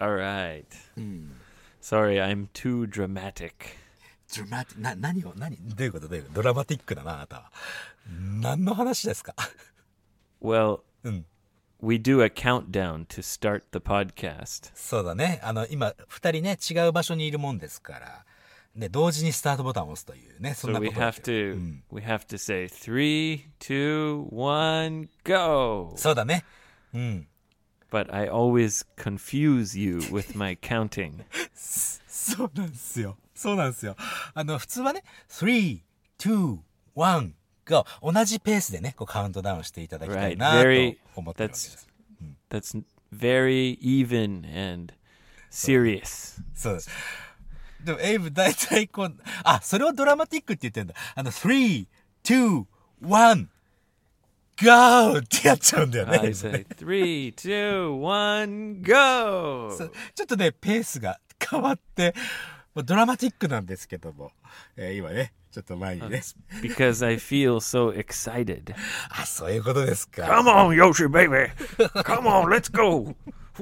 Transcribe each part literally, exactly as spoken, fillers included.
All right. うん。 Sorry, I'm too dramatic. ドラマティな、何を、何どういうことどういうことドラマティックだな、あなたは。何の話ですか Well, うん。 we do a countdown to start the podcast. そうだね。あの、今、二人ね、違う場所にいるもんですから。で、同時にスタートボタンを押すというね、そん So なこ we とだ have けど。う to ん。 we have to say three, two, one, go. そうだね。うん。 But I always confuse you with my counting. そうなんですよ。そうなんですよ。あの、普通はね、three, two, one, go 同じペースでね、こうカウントダウンしていただきたい Right. なと Very 思ってるわけです。 that's that's very even and serious. そうです。でも、エイブ大体こう、あ、それをドラマティックって言ってんだ。あの、three, two, one, go ってやっちゃうんだよね。 I say three, two, one, go. そうちょっとね、ペースが変わって、もうドラマティックなんですけども、えー今ね、ちょっと前にね。 It's because I feel so excited. あ、そういうことですか。 Come on, Yoshi baby. Come on, let's go.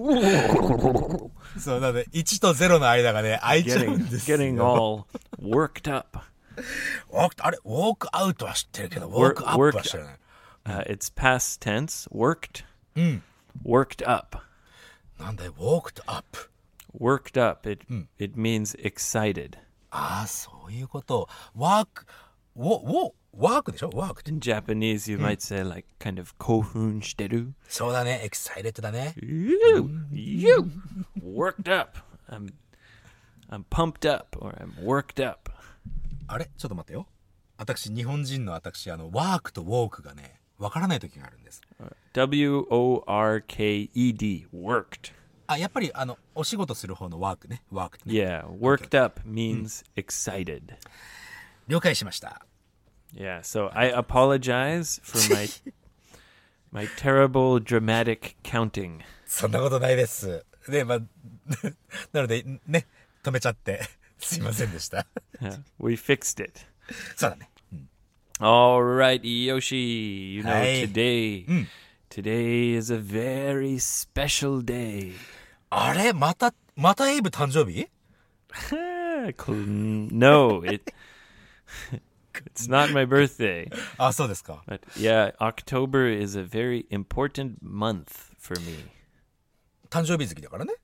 そう、なので、いちとゼロの間がね、空いちゃう Getting んですよ。 getting all worked up. ウォーク、あれ、ウォークアウトは知ってるけど、ウォークアップは知らない。 Uh, it's past tense. Worked. うん。 Worked up. なんだよ、ウォークとアップ。 Worked up. It it means excited. ああ、そういうこと。ワーク、ウォ、ウォ、ワークでしょワークって。 In Japanese, you might say like kind of kohun shiteru. そうだね、エキサイレットだね。 You, you, worked up. I'm, I'm pumped up, or I'm worked up. あれちょっと待ってよ。私、日本人の私、あの、ワークとウォークがね、わからない時があるんです。 W O R K E D. Worked. あ、やっぱり、あの、お仕事する方のワークね。ワークね。 Yeah, worked up means excited. 了解しました。 Yeah, so I apologize for my my terrible dramatic counting. そんなことないです。で、まあ、なので、ね、止めちゃって、すいませんでした。 Yeah, we fixed it. そうだね。 All right, Yoshi. You know Hi. today. Today is a very special day. あれまた、またエイブ誕生日 Cl- no, it it's not my birthday. あ、そうですか。 But yeah, October is a very important month for me. 誕生日月だからね。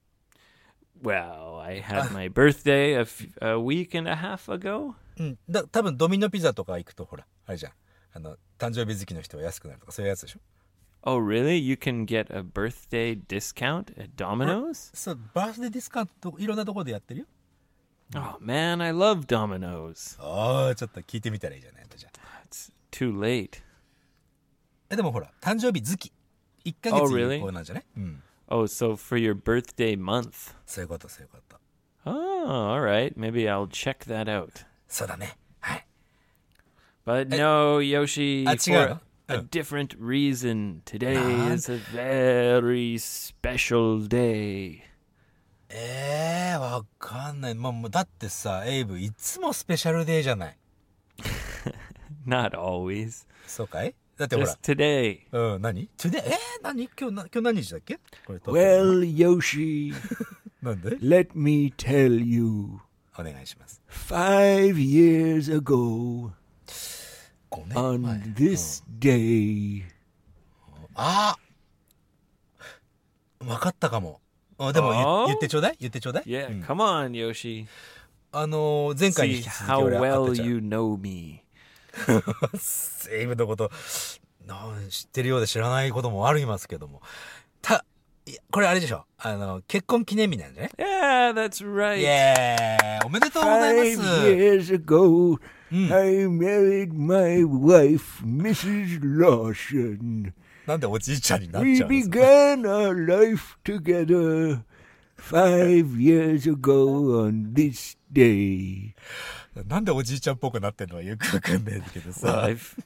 Well, I had my birthday a, f- a week and a half ago. うん。だ、多分ドミノピザとか行くと、ほら、あれじゃん。あの、誕生日月の人は安くなるとか、そういうやつでしょ。 Oh, really? You can get a birthday discount at Domino's? そう、バースデーディスカウント、いろんなところでやってるよ。 Oh, man, I love Domino's. ああ、ちょっと聞いてみたらいいじゃないじゃあ。 It's too late. え、でもほら、誕生日月。いっかげ Oh, つ really? 有効なんじゃない、うん。 Oh, so for your birthday month. そういうこと、そういうこと。 Oh, all right. Maybe I'll check that out. そうだね。はい。 But no, Yoshi, あ、違う for の a different reason. Today Nan? is a very special day. ええー、わかんない。まあ、もうだってさ、エイブ、いつもスペシャルデーじゃない。 Not always. そうかいだってほら Just。today. うん、何 ?today? えー、何今日な、今日何日だっけこれ撮ってるの Well, Yoshi, なんで let me tell you. お願いします。 Five years ago, ごねん on 前。 this day. ああわかったかも。あでも言あー言ってちょうだい言ってちょうだい Yeah, うん come on, Yoshi. あのー、前回に See 引き続き how 俺は well 当てちゃう you know me. エイブのことなん知ってるようで知らないこともありますけども。た、いやこれあれでしょあの、結婚記念日なんじゃね Yeah, that's right. イエーイおめでとうござい Five ます years ago, Mm. I married my wife, Missus Lawson. なんでおじいちゃんになっ We ちゃうんですか began our life together five years ago on this day. なんでおじいちゃんっぽくなってんのはよくわかんないけど Well, さ。 I've,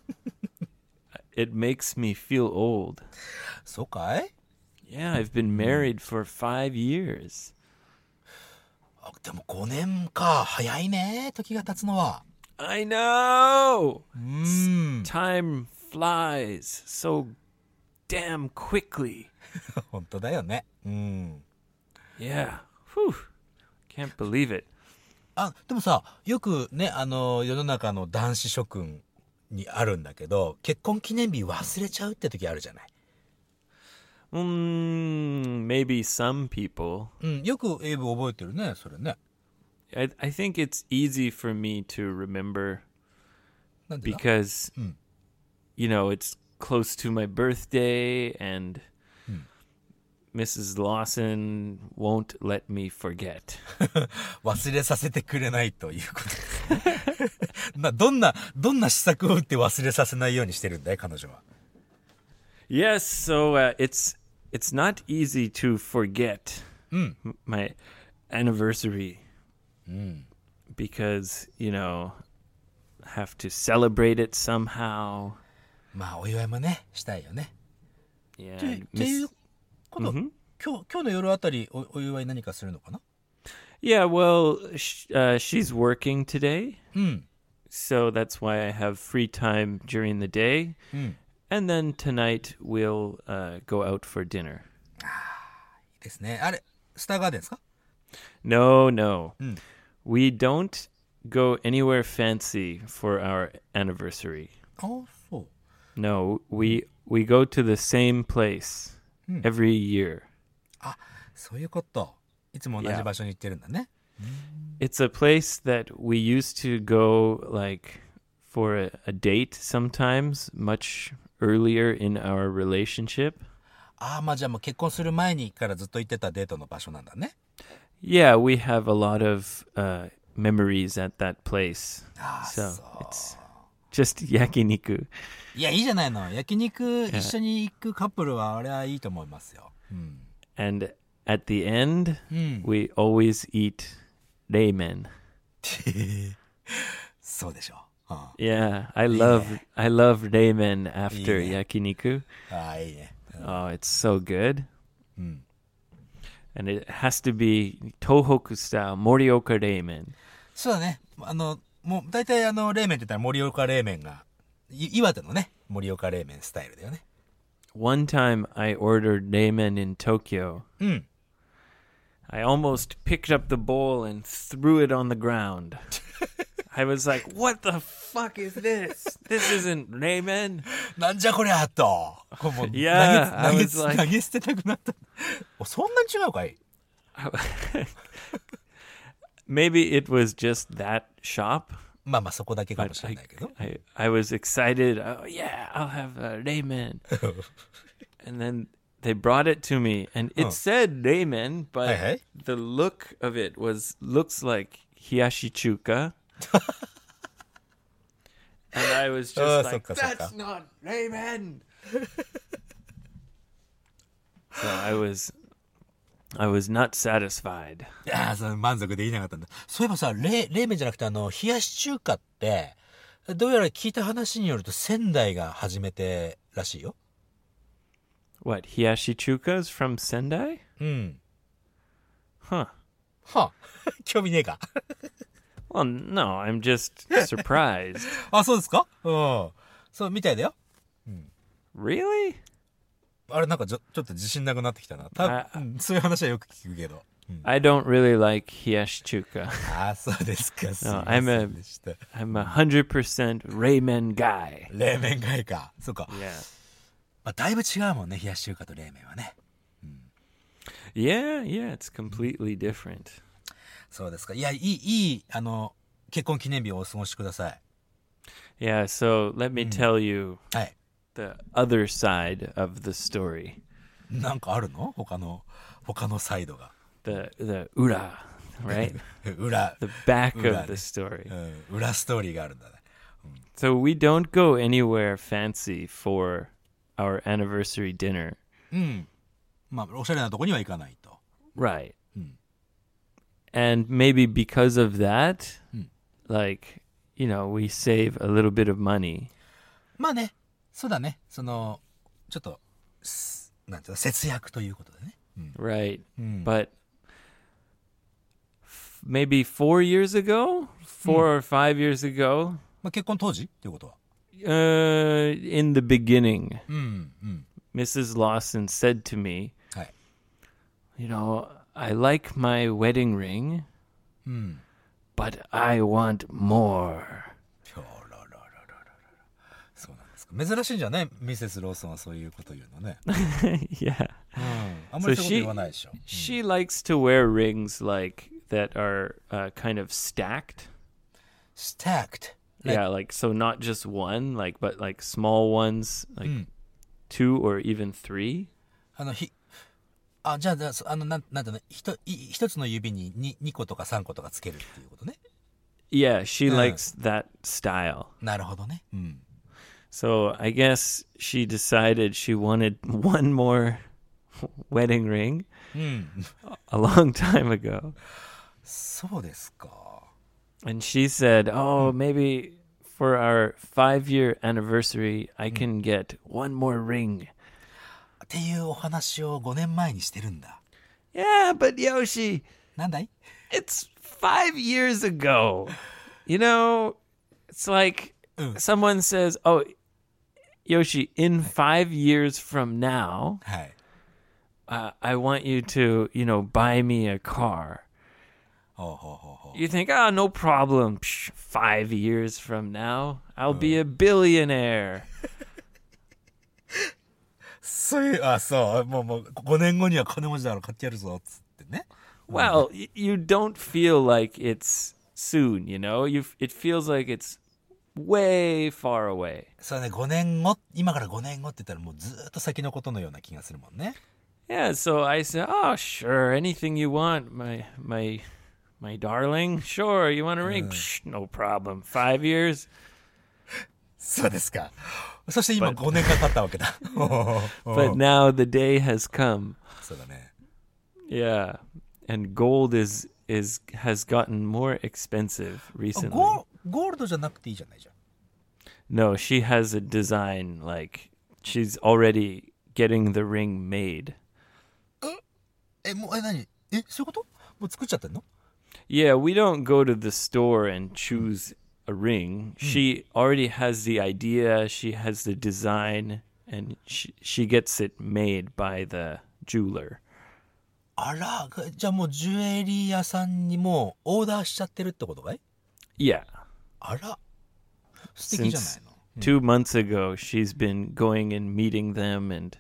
it makes me feel old. そうかい Yeah, I've been married for five years. あでもごねんか。早いね。時が経つのは。 I know! うーん。 Time flies so damn quickly. 本当だよね。うん。 Yeah. Whew. Can't believe it. あ、でもさ、よくね、あの、世の中の男子諸君にあるんだけど、結婚記念日忘れちゃうって時あるじゃない。 Mm, maybe some people. うん、よくエイブ覚えてるね、それね。 I, I think it's easy for me to remember なんでだ because, Mm. you know, it's close to my birthday and Missus Lawson won't let me forget. 忘れさせてくれないということ。な、どんな、どんな施策を打って忘れさせないようにしてるんだい、彼女は。 Yes, so uh, it's it's not easy to forget Mm. m- my anniversary Mm. because, you know, have to celebrate it somehow. まあ、お祝いもね、したいよね。 Yeah. って and っていう Miss- こと、 Mhm. 今日、今日の夜あたりお、お祝い何かするのかな Yeah, well, sh- uh, she's working today, うん。 so that's why I have free time during the day. うん。 And then tonight we'll uh, go out for dinner. いいですね。あれ、スターガーデンですか No, no. Mm. We don't go anywhere fancy for our anniversary. ああ、そう。 No, we we go to the same place Mm. every year. あ、そういうこと。いつも同じ Yeah. 場所に行ってるんだね。 It's a place that we used to go like for a, a date sometimes much earlier in our relationship. ああ、まあじゃあもう結婚する前にからずっと行ってたデートの場所なんだね。 Yeah, we have a lot of uh, memories at that place. ああ、 So そう。 it's just yakiniku. いや、いいじゃないの。焼肉一緒に行くカップルは、あれはいいと思いますよ。うん。 And at the end, うん。 we always eat ramen. そうでしょう。うん、あ Yeah, I love I love ramen after Yeah. yakiniku. あ、いいね。 Oh, it's so good. うん。 And it has to be Tohoku style Morioka ramen. そうだね。あの、もう大体あの、冷麺って言ったら盛岡冷麺が、い岩手のね、盛岡冷麺スタイルだよね。 One time I ordered ramen in Tokyo. うん。 I almost picked up the bowl and threw it on the ground. I was like, what the fuck is this? This isn't ramen. なんじゃこりゃと。こうもう Yeah, 投げ I 投げ was like- 投げ捨てたくなった。おそんなに違うかい Maybe it was just that shop. まあまあそこだけかも But しれ I, ないけど。 I, I was excited. Oh, yeah, I'll have a ramen. And then they brought it to me, and it Huh. said ramen, but Hey, hey. the look of it was looks like hiyashi chuka. And I was just Oh, like, sokka, that's sokka. not ramen. So I was, I was not satisfied. いやー、その満足できなかったんだ。そういえばさ、冷冷麺じゃなくてあの、冷やし中華って、どうやら聞いた話によると仙台が初めてらしいよ。 What, hiyashi chukas from Sendai? うん。 Huh. はあ、興味ねえか。 Well, no, I'm just surprised. あ、そうですかうん。そう、みたいだよ。 Really? あれなんかちょちょっと自信なくなってきたな。たあうんそういう話はよく聞くけど。うん I don't really like hiyashi chuka. ああ、そうですか。すいま I'm せ a- んでした。 I'm a hundred percent ramen guy. 冷麺がいいか。そうか。 Yeah. まあ、だいぶ違うもんね、冷やし中華と冷麺はね。 Yeah, yeah, it's completely different. そうですか。いや、いい、いい、あの、結婚記念日をお過ごしください。 Yeah, so let me tell you はい。 the other side of the story. なんかあるの他の、他のサイドが。 The the ura, right? 裏、 The back Ura. of the story. うん、裏ストーリーがあるんだね。 So we don't go anywhere fancy for our anniversary dinner. うん。まあ、おしゃれなとこには行かないと。 Right. Hmm. And maybe because of that, Hmm. like, you know, we save a little bit of money. まあね、そうだね。その、ちょっと、すなんていうの、節約ということでね。うん。 Right. うん、 But f- maybe four years ago, four or five years ago, まあ、結婚当時っていうことは。 uh, in the beginning, うん、うん。 Missus Lawson said to me, はい。 you know, I like my wedding ring, うん。 but I want more. あらららららら。そうなんですか。珍しいんじゃね、ミセスローソンはそういうこと言うのね。 Yeah. うん。あんまりそういうこと言わないでしょ。 She likes to wear rings like that are uh, kind of stacked. stacked. Like- Yeah, like so not just one, like but like small ones, like うん。 two or even three. あの、ひ、あ、じゃあ、じゃあそあの、なん、なんていうの、ひと、い一つの指にににことかさんことかつけるっていうことね。 Yeah, she Uh. likes that style. なるほどね。うん。 So I guess she decided she wanted one more wedding ring うん。 a long time ago. そうですか。 And she said, "Oh, maybe for our five-year anniversary, I can get one more ring." っていうお話をごねんまえにしてるんだ。 Yeah, but Yoshi, なんだい？ it's five years ago. You know, it's like Mm. someone says, "Oh, Yoshi, in five years from now, はい。 uh, I want you to, you know, buy me a car." ほうほうほうほう。 You think, "Oh, no problem. Psh, five years from now, I'll be a billionaire." そういう、あ、そう。もう、もう、ごねんごには金持ちだから買ってやるぞ、つってね。 Well, y- you don't feel like it's soon, you know? You f- it feels like it's way far away. そうね、ごねんご、今からごねんごって言ったらもうずーっと先のことのような気がするもんね。 Yeah, so I said, "Oh, sure, anything you want, my my my darling. Sure, you want a ring? Psh, no problem. Five years." そうですか。そして今ごねんかん経ったわけだ。 But now the day has come. そうだね。 Yeah. And gold is is has gotten more expensive あ recently. ゴーゴールドじゃなくていいじゃないじゃん。 No, she has a design like she's already getting the ring made. え、もう、え、何え、そういうこと？もう作っちゃってんの？ Yeah, we don't go to the store and choose a ring. She already has the idea, she has the design, and she she gets it made by the jeweler. あら、じゃあもうジュエリー屋さんにもうオーダーしちゃってるってことかい？ Yeah. あら、素敵じゃない Since の？ two months ago, she's been going and meeting them and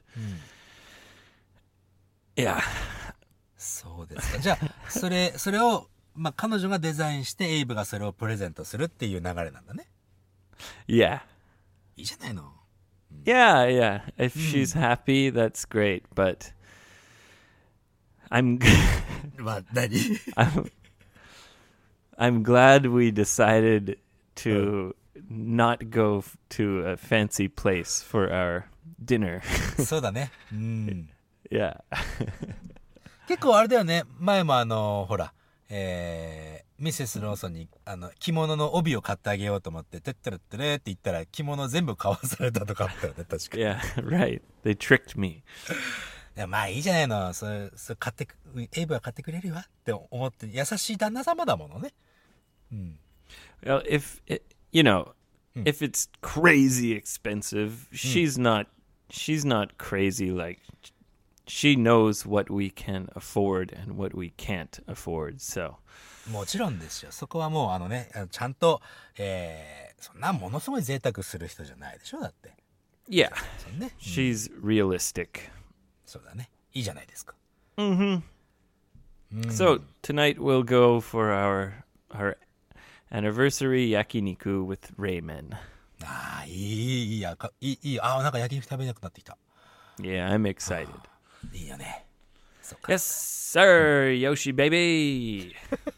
yeah. そうですか。じゃあ、それ、それを、まあ、彼女がデザインして、エイブがそれをプレゼントするっていう流れなんだね。 Yeah. いいじゃないの。 Yeah, yeah. If she's happy, that's great, but I'm まあ、何？ I'm I'm glad we decided to not go f- to a fancy place for our dinner. そうだね。うん。 Yeah. 結構あれだよね。前もあの、ほら、えー、ミセスローソンに、あの、着物の帯を買ってあげようと思って、てってるってれって言ったら、着物全部買わされたとかあったよね、確かに。い Yeah, right. They tricked me. や、まあいいじゃないの。それ、それ買ってく、エイブは買ってくれるわって思って、優しい旦那様だものね。うん。 Well, if it, you know, if it's crazy expensive, she's not she's not crazy like she knows what we can afford and what we can't afford. So, もちろんですよ。そこはもうあのね、あのちゃんと、えー、そんなものすごい贅沢する人じゃないでしょだって。 yeah, そうね。 she's realistic. そうだね。いいじゃないですか。 So, tonight we'll go for our our anniversary yakiniku with Raymond. ああ、いい、いいや、かいい、いい。ああ、なんか焼き肉食べなくなってきた。 Yeah, I'm excited. いいよね。そうか。 Yes, sir, Yoshi baby.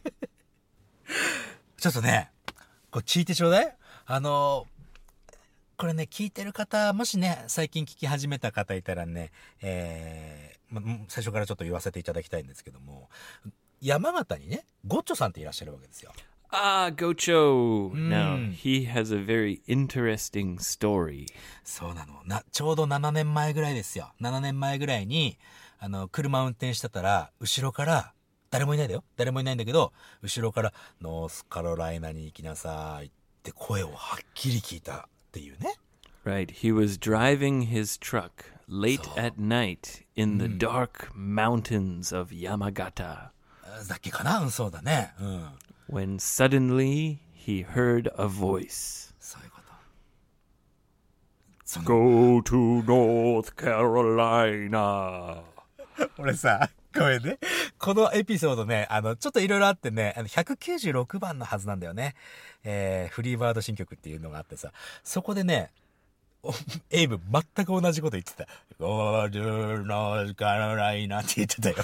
ちょっとね、こう聞いてちょうだい。あの、これね、聞いてる方、もしね、最近聞き始めた方いたらね、えー、ま、最初からちょっと言わせていただきたいんですけども、山形にね、ゴッチョさんっていらっしゃるわけですよ。 Ah, Gocho. Now, he has a very interesting story. そうなの。な、ちょうどななねんまえぐらいですよ。ななねんまえぐらいに、あの、車運転してたら、後ろから、誰もいないんだよ。誰もいないんだけど、後ろから、ノースカロライナに行きなさいって声をはっきり聞いたっていうね。 Right. He was driving his truck late at night in the dark mountains of Yamagata だっけかな、うん、そうだね。うん。 when suddenly he heard a voice. そういうこと。その Go to North Carolina. 俺さ、ごめんね。このエピソードね、あの、ちょっといろいろあってね、あの、ひゃくきゅうじゅうろくばんのはずなんだよね。えー、フリーバード新曲っていうのがあってさ、そこでね、おエイブ全く同じこと言ってた。Go to North Carolina って言ってたよ。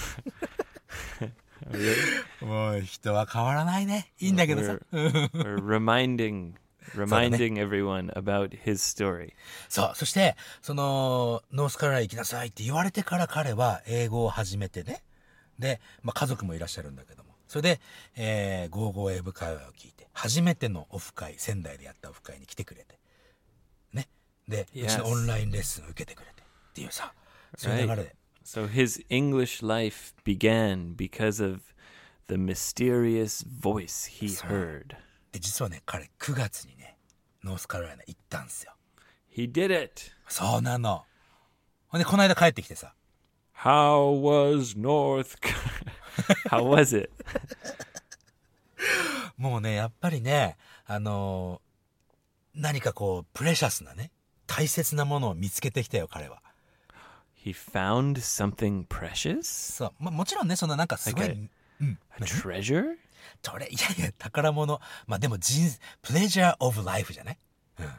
もう人は変わらないね。いいんだけどさ。 We're, we're reminding reminding everyone about his story. そう。そして、その、ノースカロライナ行きなさいって言われてから彼は英語を始めてね。で、まあ、家族もいらっしゃるんだけども。それで、えー、ゴーゴー英語会話を聞いて、初めてのオフ会、仙台でやったオフ会に来てくれて。ね。で、うちのオンラインレッスンを受けてくれて。っていうさ、そういう流れで。 So his English life began because of the mysterious voice he heard. で、実はね、彼くがつにね、ノースカロライナ行ったんすよ。 He did it. そうなの。ほんで、この間帰ってきてさ。 How was North Car- How was it? もうね、やっぱりね、あのー何かこう、プレシャスなね、大切なものを見つけてきたよ、彼は。 He found something precious? そう。まあ、もちろんね、そのなんかすごい、 Like A treasure? それ、いやいや、宝物。まあでも人、プレジャーオブライフじゃない？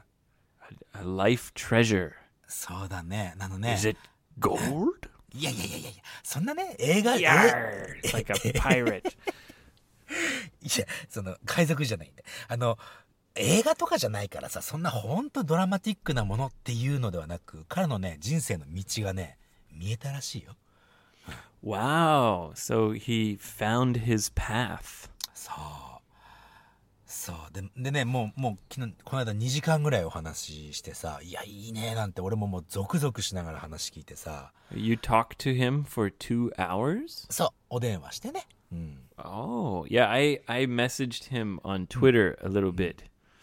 A life treasure. そうだね。あのね。 Is it gold? いやいやいやいや、そんなね、映画、え Yarr! It's like a pirate. いや、その、海賊じゃないんで。あの、映画とかじゃないからさ、そんなほんとドラマティックなものっていうのではなく、彼のね、人生の道がね、見えたらしいよ。 Wow. So he found his path. そう。そう。で、でね、もう、もう、昨日、この間にじかんぐらいお話ししてさ、いや、いいね、なんて、俺ももうゾクゾクしながら話聞いてさ。 You talked to him for two hours? そう、お電話してね。うん。 Oh, yeah. I, I messaged him on Twitter a little bit.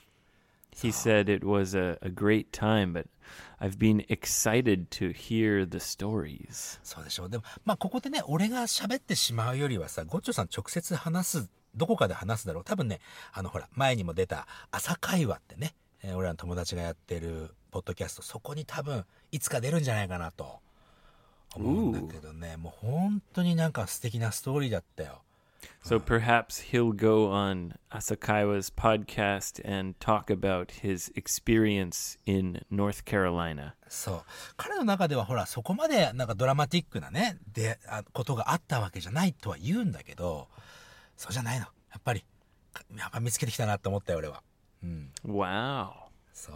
He said it was a, a great time, but I've been excited to hear the stories. そうでしょう。でも、まあ、ここでね、俺が喋ってしまうよりはさ、ゴッチョさん直接話す、どこかで話すだろう。多分ね、あの、ほら、前にも出た朝会話ってね、えー俺らの友達がやってるポッドキャスト、そこに多分、いつか出るんじゃないかなと思うんだけどね、もう本当になんか素敵なストーリーだったよ。 So perhaps he'll go on Asakaiwa's podcast and talk about his experience in North Carolina. そう。彼の中ではほら、そこまでなんかドラマティックなね、で、あことがあったわけじゃないとは言うんだけど、そうじゃないの。やっぱり、やっぱ見つけてきたなって思ったよ、俺は。うん。 Wow. そう。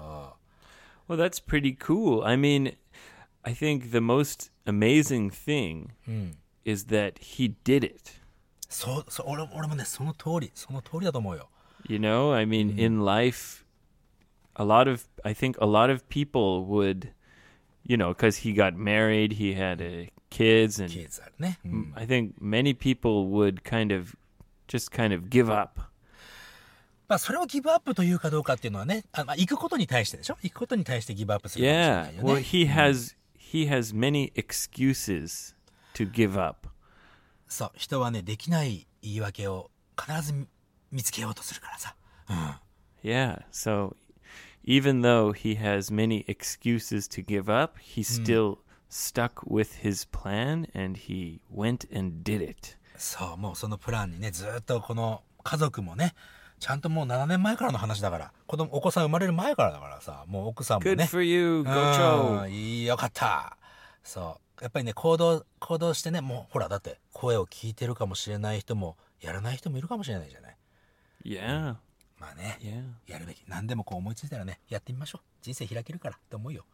Well, that's pretty cool. I mean, I think the most amazing thing is that he did it. そう、そう、俺、俺もね、その通り、その通りだと思うよ。 You know, I mean, in life, a lot of, I think a lot of people would, you know, because he got married, he had uh, kids, and キッズあるね。うん I think many people would kind of, just kind of give up. まあ、それをギブアップというかどうかっていうのはね、あまあ、行くことに対してでしょ？行くことに対してギブアップするかもしれな Yeah. いよね。 Well, he has, he has many excuses to give up. そう、人はね、できない言い訳を必ず見見つけようとするからさ。うん。 Yeah. So even though he has many excuses to give up, he still stuck with his plan and he went and did it. そう、もうそのプランにね、ずっとこの家族もね、ちゃんともうななねんまえからの話だから、子供、お子さん生まれる前からだからさ、もう奥さんも Good ね。 for you, う Gocho. ん、いいよかった。そう。やっぱりね、行動、行動してね、もうほら、だって声を聞いてるかもしれない人も、やらない人もいるかもしれないじゃない。 Yeah. まあね、 Yeah. やるべき。何でもこう思いついたらね、やってみましょう。人生開けるからって思うよ。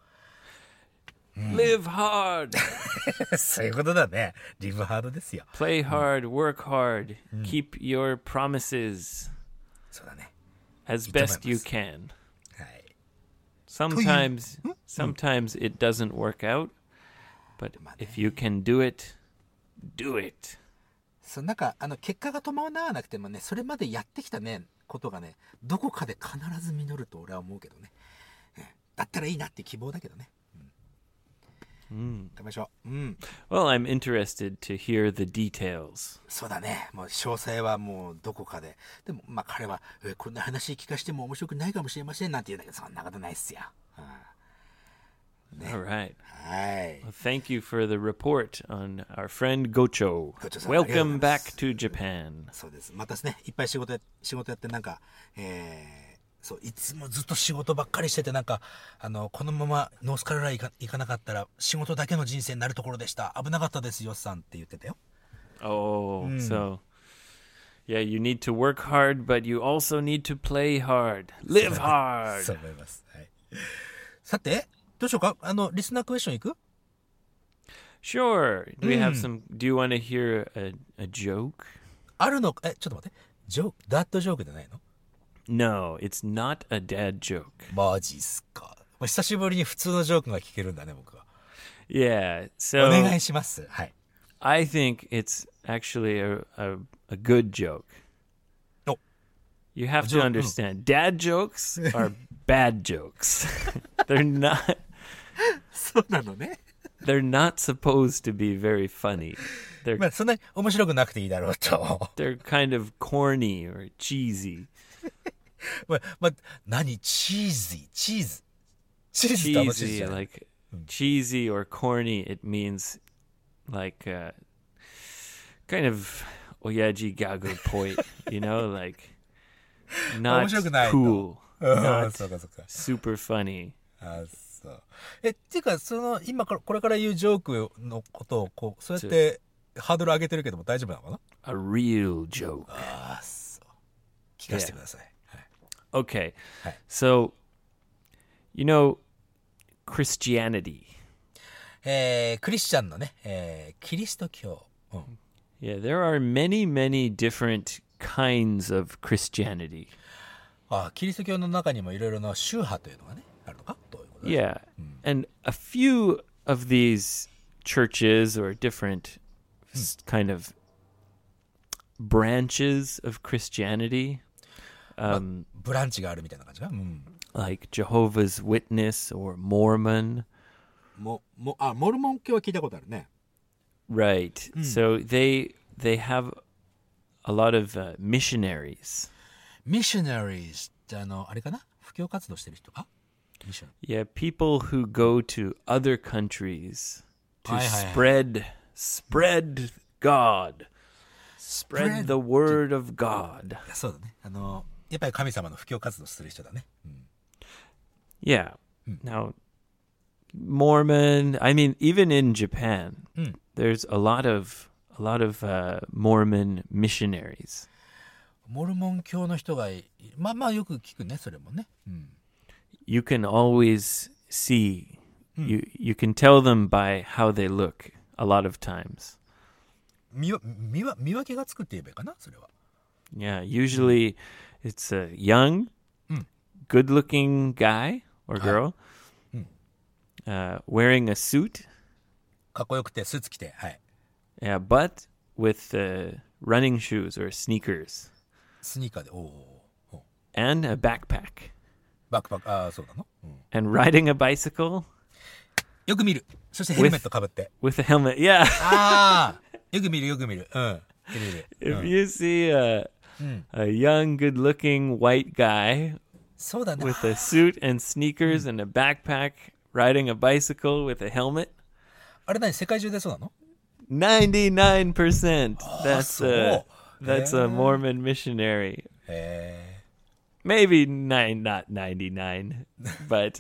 Live hard. そういうことだね。リブハードですよ。 Play hard, work hard, keep your promises そうだね。 as いいと思います。 best you can. はい。 Sometimes sometimes it doesn't work out, but if you can do it, do it. そう、なんか、あの、結果が伴わなくてもね、それまでやってきたね、ことがね、どこかで必ず実ると俺は思うけどね。 だったらいいなって希望だけどね。 うん。 頑張りましょう。うん。 Well, I'm interested to hear the details. そうだね。もう詳細はもうどこかで。でも、まあ彼は、えこんな話聞かしても面白くないかもしれませんなんて言うんだけど、そんなことないっすよ。ね、 All right. はい。 Well, thank you for the report on our friend Gocho. Gocho さん、 Welcome back to Japan. そうです。またですね、いっぱい仕事や、仕事やってなんか、えー、そう、いつもずっと仕事ばっかりしてて、なんか、あの、このままノースカロライナ行か、行かなかったら、仕事だけの人生になるところでした。危なかったですよ、さんって言ってたよ。 Oh, so yeah, you need to work hard, but you also need to play hard. Live そう hard. 思います。はい。さて、どうしようか、あの、リスナークエスチョンいく？ Sure. Do we have some? Do you want to hear a, a joke? あるの、え、ちょっと待って。ジョーク、ダッドジョークじゃないの？ No, it's not a dad joke. マジっすか。久しぶりに普通のジョークが聞けるんだね、僕は。 Yeah. お So 願いします。はい。 I think it's actually a a, a good joke. Oh. You have A to joke, understand. Dad jokes are bad jokes. They're not. そうなのね。 They're not supposed to be very funny. They're まあ、そんなに面白くなくていいだろうと。 they're kind of corny or cheesy. まあ、まあ、何チーズイチーズ。チーズってあのチーズじ Cheesy, ゃない？ like cheesy or corny. It means like uh, kind of oyaji gagu point. You know, like not 面白くないと。 cool, うん、 not そうかそうか。 super funny. あ、そう。え、っていうか、その、今から、これから言うジョークのことを、こう、そうやってハードル上げてるけども大丈夫なのかな？ A real joke. ああ、そう。聞かせてください。はい。 Okay, Hi. so you know Christianity. えー、クリスチャンのね、えー、キリスト教。うん。 Yeah, there are many, many different kinds of Christianity. あ、キリスト教の中にもいろいろな宗派というのがね、あるのか？どういうこと？ Yeah, and a few of these churches or different s- kind of branches of Christianity, um, ブランチがあるみたいな感じか？うん。 like Jehovah's Witness or Mormon, も、も、あ、モルモン教は聞いたことあるね。 right? So they they have a lot of uh, missionaries. ミッショナリーズってあの、あれかな？布教活動してる人か？ミッショナリー。 Yeah, people who go to other countries to Hi, hi, hi. spread spread God, spread Spread the word of God. そうだね。あの、やっぱり神様の布教活動する人だね。うん。 Yeah. Now, Mormon. I mean, even in Japan, there's a lot of a lot of uh, Mormon missionaries. モルモン教の人がい、まあまあよく聞くね、それもね。うん。 You can always see. You you can tell them by how they look. A lot of times. 見わ、見わ、見分けがつくって言えばいいかな、それは。 Yeah. Usually, it's a young, good-looking guy or girl uh, wearing a suit. かっこよくて、スーツ着て、はい。 Yeah, but with uh, running shoes or sneakers スニーカーで、おーおー、 and a backpack バックパック、ああ、そうなの、うん、 and riding a bicycle よく見る。そしてヘルメットかぶって。 with a helmet. Yeah. ああ、よく見る、よく見る。うん。見る見る。 If うん you see a a young, good-looking white guy そうだね。 with a suit and sneakers and a backpack riding a bicycle with a helmet, あれ何、世界中でそうなの？ ninety-nine percent. That's a so. that's a Mormon missionary. へ Maybe nine, not ninety-nine, but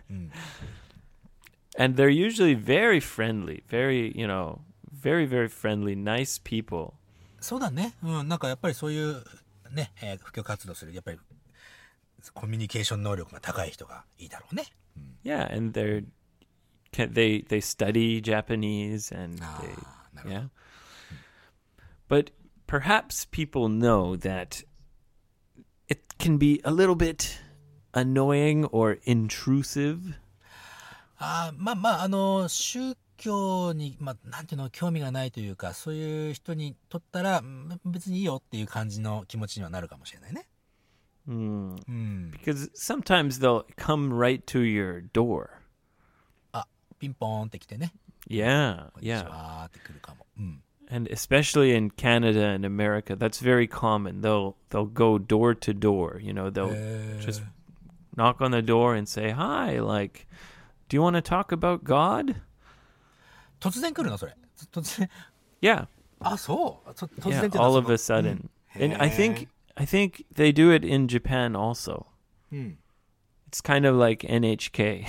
and they're usually very friendly, very, you know, very, very friendly, nice people. ーそうだね。うん、なんかやっぱりそういうね、えー、布教活動する、やっぱりコミュニケーション能力が高い人がいいだろうね。 Yeah, and they're can, they they study Japanese and Ah, they, なるほど。 yeah. But perhaps people know that it can be a little bit annoying or intrusive. ああ、まあまあ、あの、宗教に、まあ、なんていうの、興味がないというか、そういう人にとったら、うん別にいいよっていう感じの気持ちにはなるかもしれないね。 Hmm. うん。 Because sometimes they'll come right to your door. あ、ピンポーンって来てね。 Yeah, こんにち yeah. はーって来るかも。うん。 And especially in Canada and America, that's very common. They'll they'll go door to door. You know, they'll へー just knock on the door and say, "Hi, like, do you want to talk about God?" 突然来るのそれ。突然。 Yeah, あ、そう。と突 yeah. 然っていうのは All そ of の a sudden, and I へー think I think they do it in Japan also. うん。 It's kind of like N H K.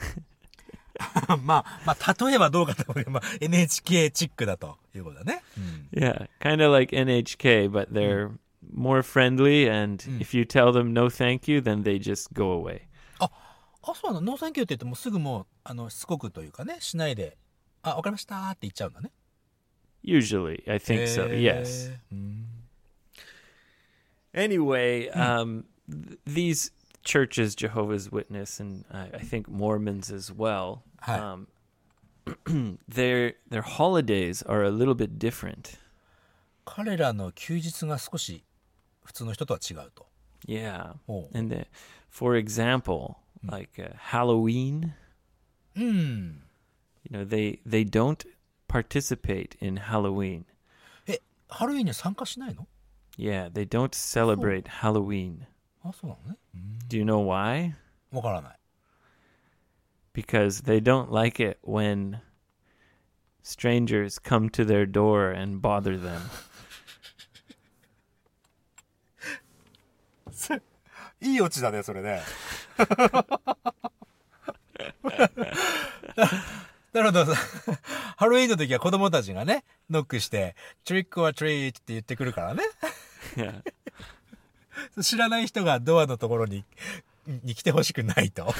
まあ、まあ、例えばどうかと思うけど、まあ、エヌエイチケー チックだということだね。うん。 Yeah, kind of like N H K, but they're more friendly. And if you tell them no, thank you, then they just go away. あ、そうなの。ノーサンキューって言ってもすぐもう、あの、しつこくというかね、しないで、あ、わかりましたーって言っちゃうんだね。 Usually, I think so. へー Yes. うん。 Anyway, um, th- these churches, Jehovah's Witness, and I, I think Mormons as well, Hi. um, their their holidays are a little bit different. 彼らの休日が少し普通の人とは違うと。 Yeah, おう and the, for example, like uh, Halloween, うん。 you know, they they don't participate in Halloween. え、ハロウィンには参加しないの？ Yeah, they don't celebrate Halloween. あ、そうなのね。うん。 Do you know why? わからない。 Because they don't like it when strangers come to their door and bother them. いいオチだね、それね。なるほど。ハロウィンの時は子供たちがね、ノックして、トリックオアトリートって言ってくるからね。 Yeah. 知らない人がドアのところに、に来てほしくないと。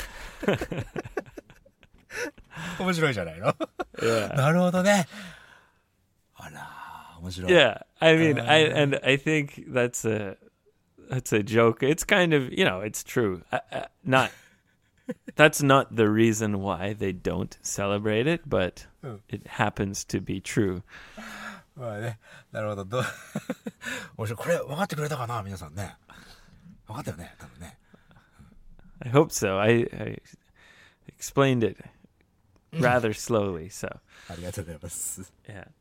面白いじゃないの。 Yeah. なるほどね。あら、面白い。 Yeah. I mean, I and I think that's a that's a joke. It's kind of, you know, it's true. I, I, not that's not the reason why they don't celebrate it, but it happens to be true. まあね、なるほど。どう面白い。これ分かってくれたかな、皆さんね。分かったよね、多分ね。 I hope so. I, I explained it rather slowly, so ありがとうございます。 yeah. や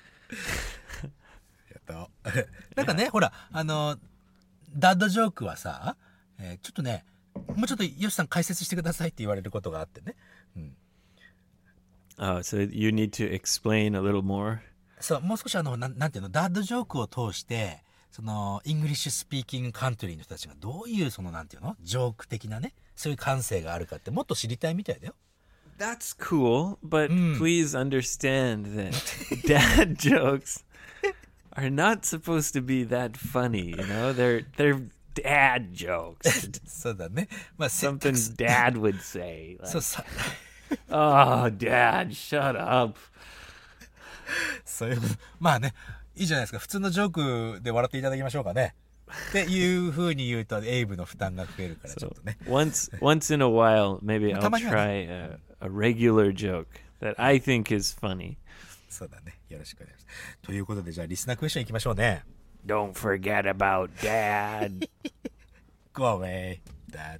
った。なんかね、ほら、あの、ダッドジョークはさ、えーちょっとね、もうちょっとヨシさん解説してくださいって言われることがあってね。うん。 Oh, so you need to explain a little more. そう、もう少しあの、なん、なんていうの、ダッドジョークを通して、その、イングリッシュスピーキングカントリーの人たちがどういう、その、なんていうの、ジョーク的なね、そういう感性があるかってもっと知りたいみたいだよ。 That's cool, but please understand that dad jokes are not supposed to be that funny, you know? They're they're dad jokes. そうだね。まあ、せ Something dad would say. そう Like, さ、 oh, dad, shut up. そういうこと。まあね、いいじゃないですか。普通のジョークで笑っていただきましょうかね。っていう風に言うと、エイブの負担が増えるから、ちょっとね。 Once once in a while, maybe I'll たまにはね。 try a, a regular joke that I think is funny. そうだね。よろしくお願いします。ということで、じゃあ、リスナークエスチョン行きましょうね。 Don't forget about dad. Go away, dad.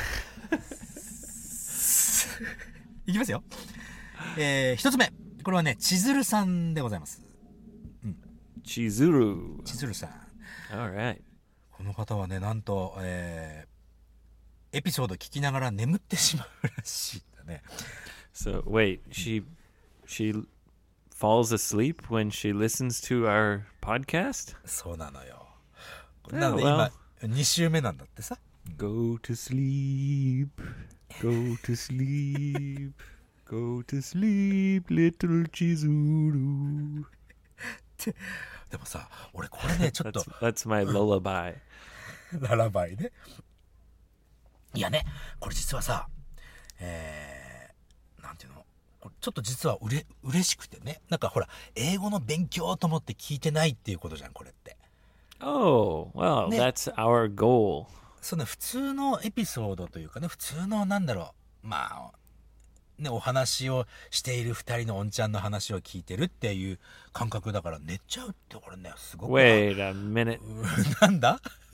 いきますよ。えー、一つ目。これはね、千鶴さんでございます。 Chizuru. 千鶴さん。 All right. この方はね、なんと、えー、エピソード聞きながら眠ってしまうらしいんだね。 So wait, she she falls asleep when she listens to our podcast? そうなのよ。 Yeah, なので well. 今、に週目なんだってさ。 Go to sleep. Go to sleep. Go to sleep, little Chizuru. でもさ、俺これね、ちょっと That's、that's my lullaby. ララバイね。いやね、これ実はさ、えー、なんていうの、これちょっと実はうれ、嬉しくてね。なんかほら、英語の勉強と思って聞いてないっていうことじゃん、これって。 Oh, well, Ne- that's our goal. その普通のエピソードというかね、普通のなんだろう、まあ、ね、お話をしている二人のおんちゃんの話を聞いてるっていう感覚だから寝ちゃうってこれね、すごく。 Wait a minute. なんだ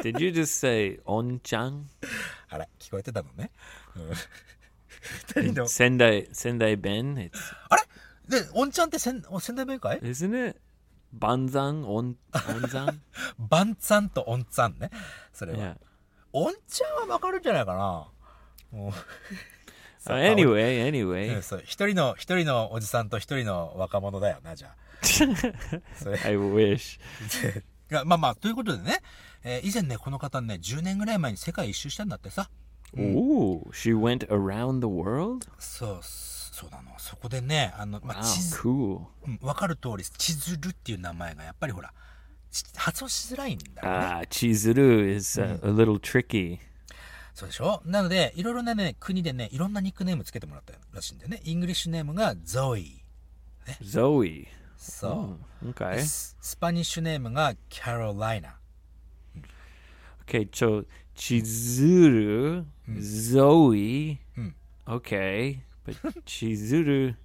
Did you just say on-chan? あら、聞こえてたのね。うん、二人の。 Sendai, Sendai Ben? It's, あれで、おんちゃんって仙仙台弁かい isn't it? Banzan, on, onzan? バンツァンとオンツァンね。それは。 Yeah. おんちゃんはわかるんじゃないかな。もう Uh, anyway, anyway. そう、一人の、一人のおじさんと一人の若者だよな、じゃあ。それ I wish. いやまあまあ、ということでね、えー以前ね、この方ね、じゅうねんぐらい前に世界一周したんだってさ。 Ooh, she went around the world? そう、そうなの。そこでね、あの、ま Wow, あ、地図、 cool. うんわかる通り、千鶴っていう名前がやっぱりほら、ち発音しづらいんだよね。 Ah, Chizuru is uh, a little tricky. そうでしょ。なので、いろいろなね、国でね、いろんなニックネームつけてもらったらしいんだよね。イングリッシュネームがゾイ。 Zoe. そ Oh, う。 okay. ススパニッシュネームがキャロライナ。 Okay, so Chizuru, Zoe. Mm. Okay, but Chizuru,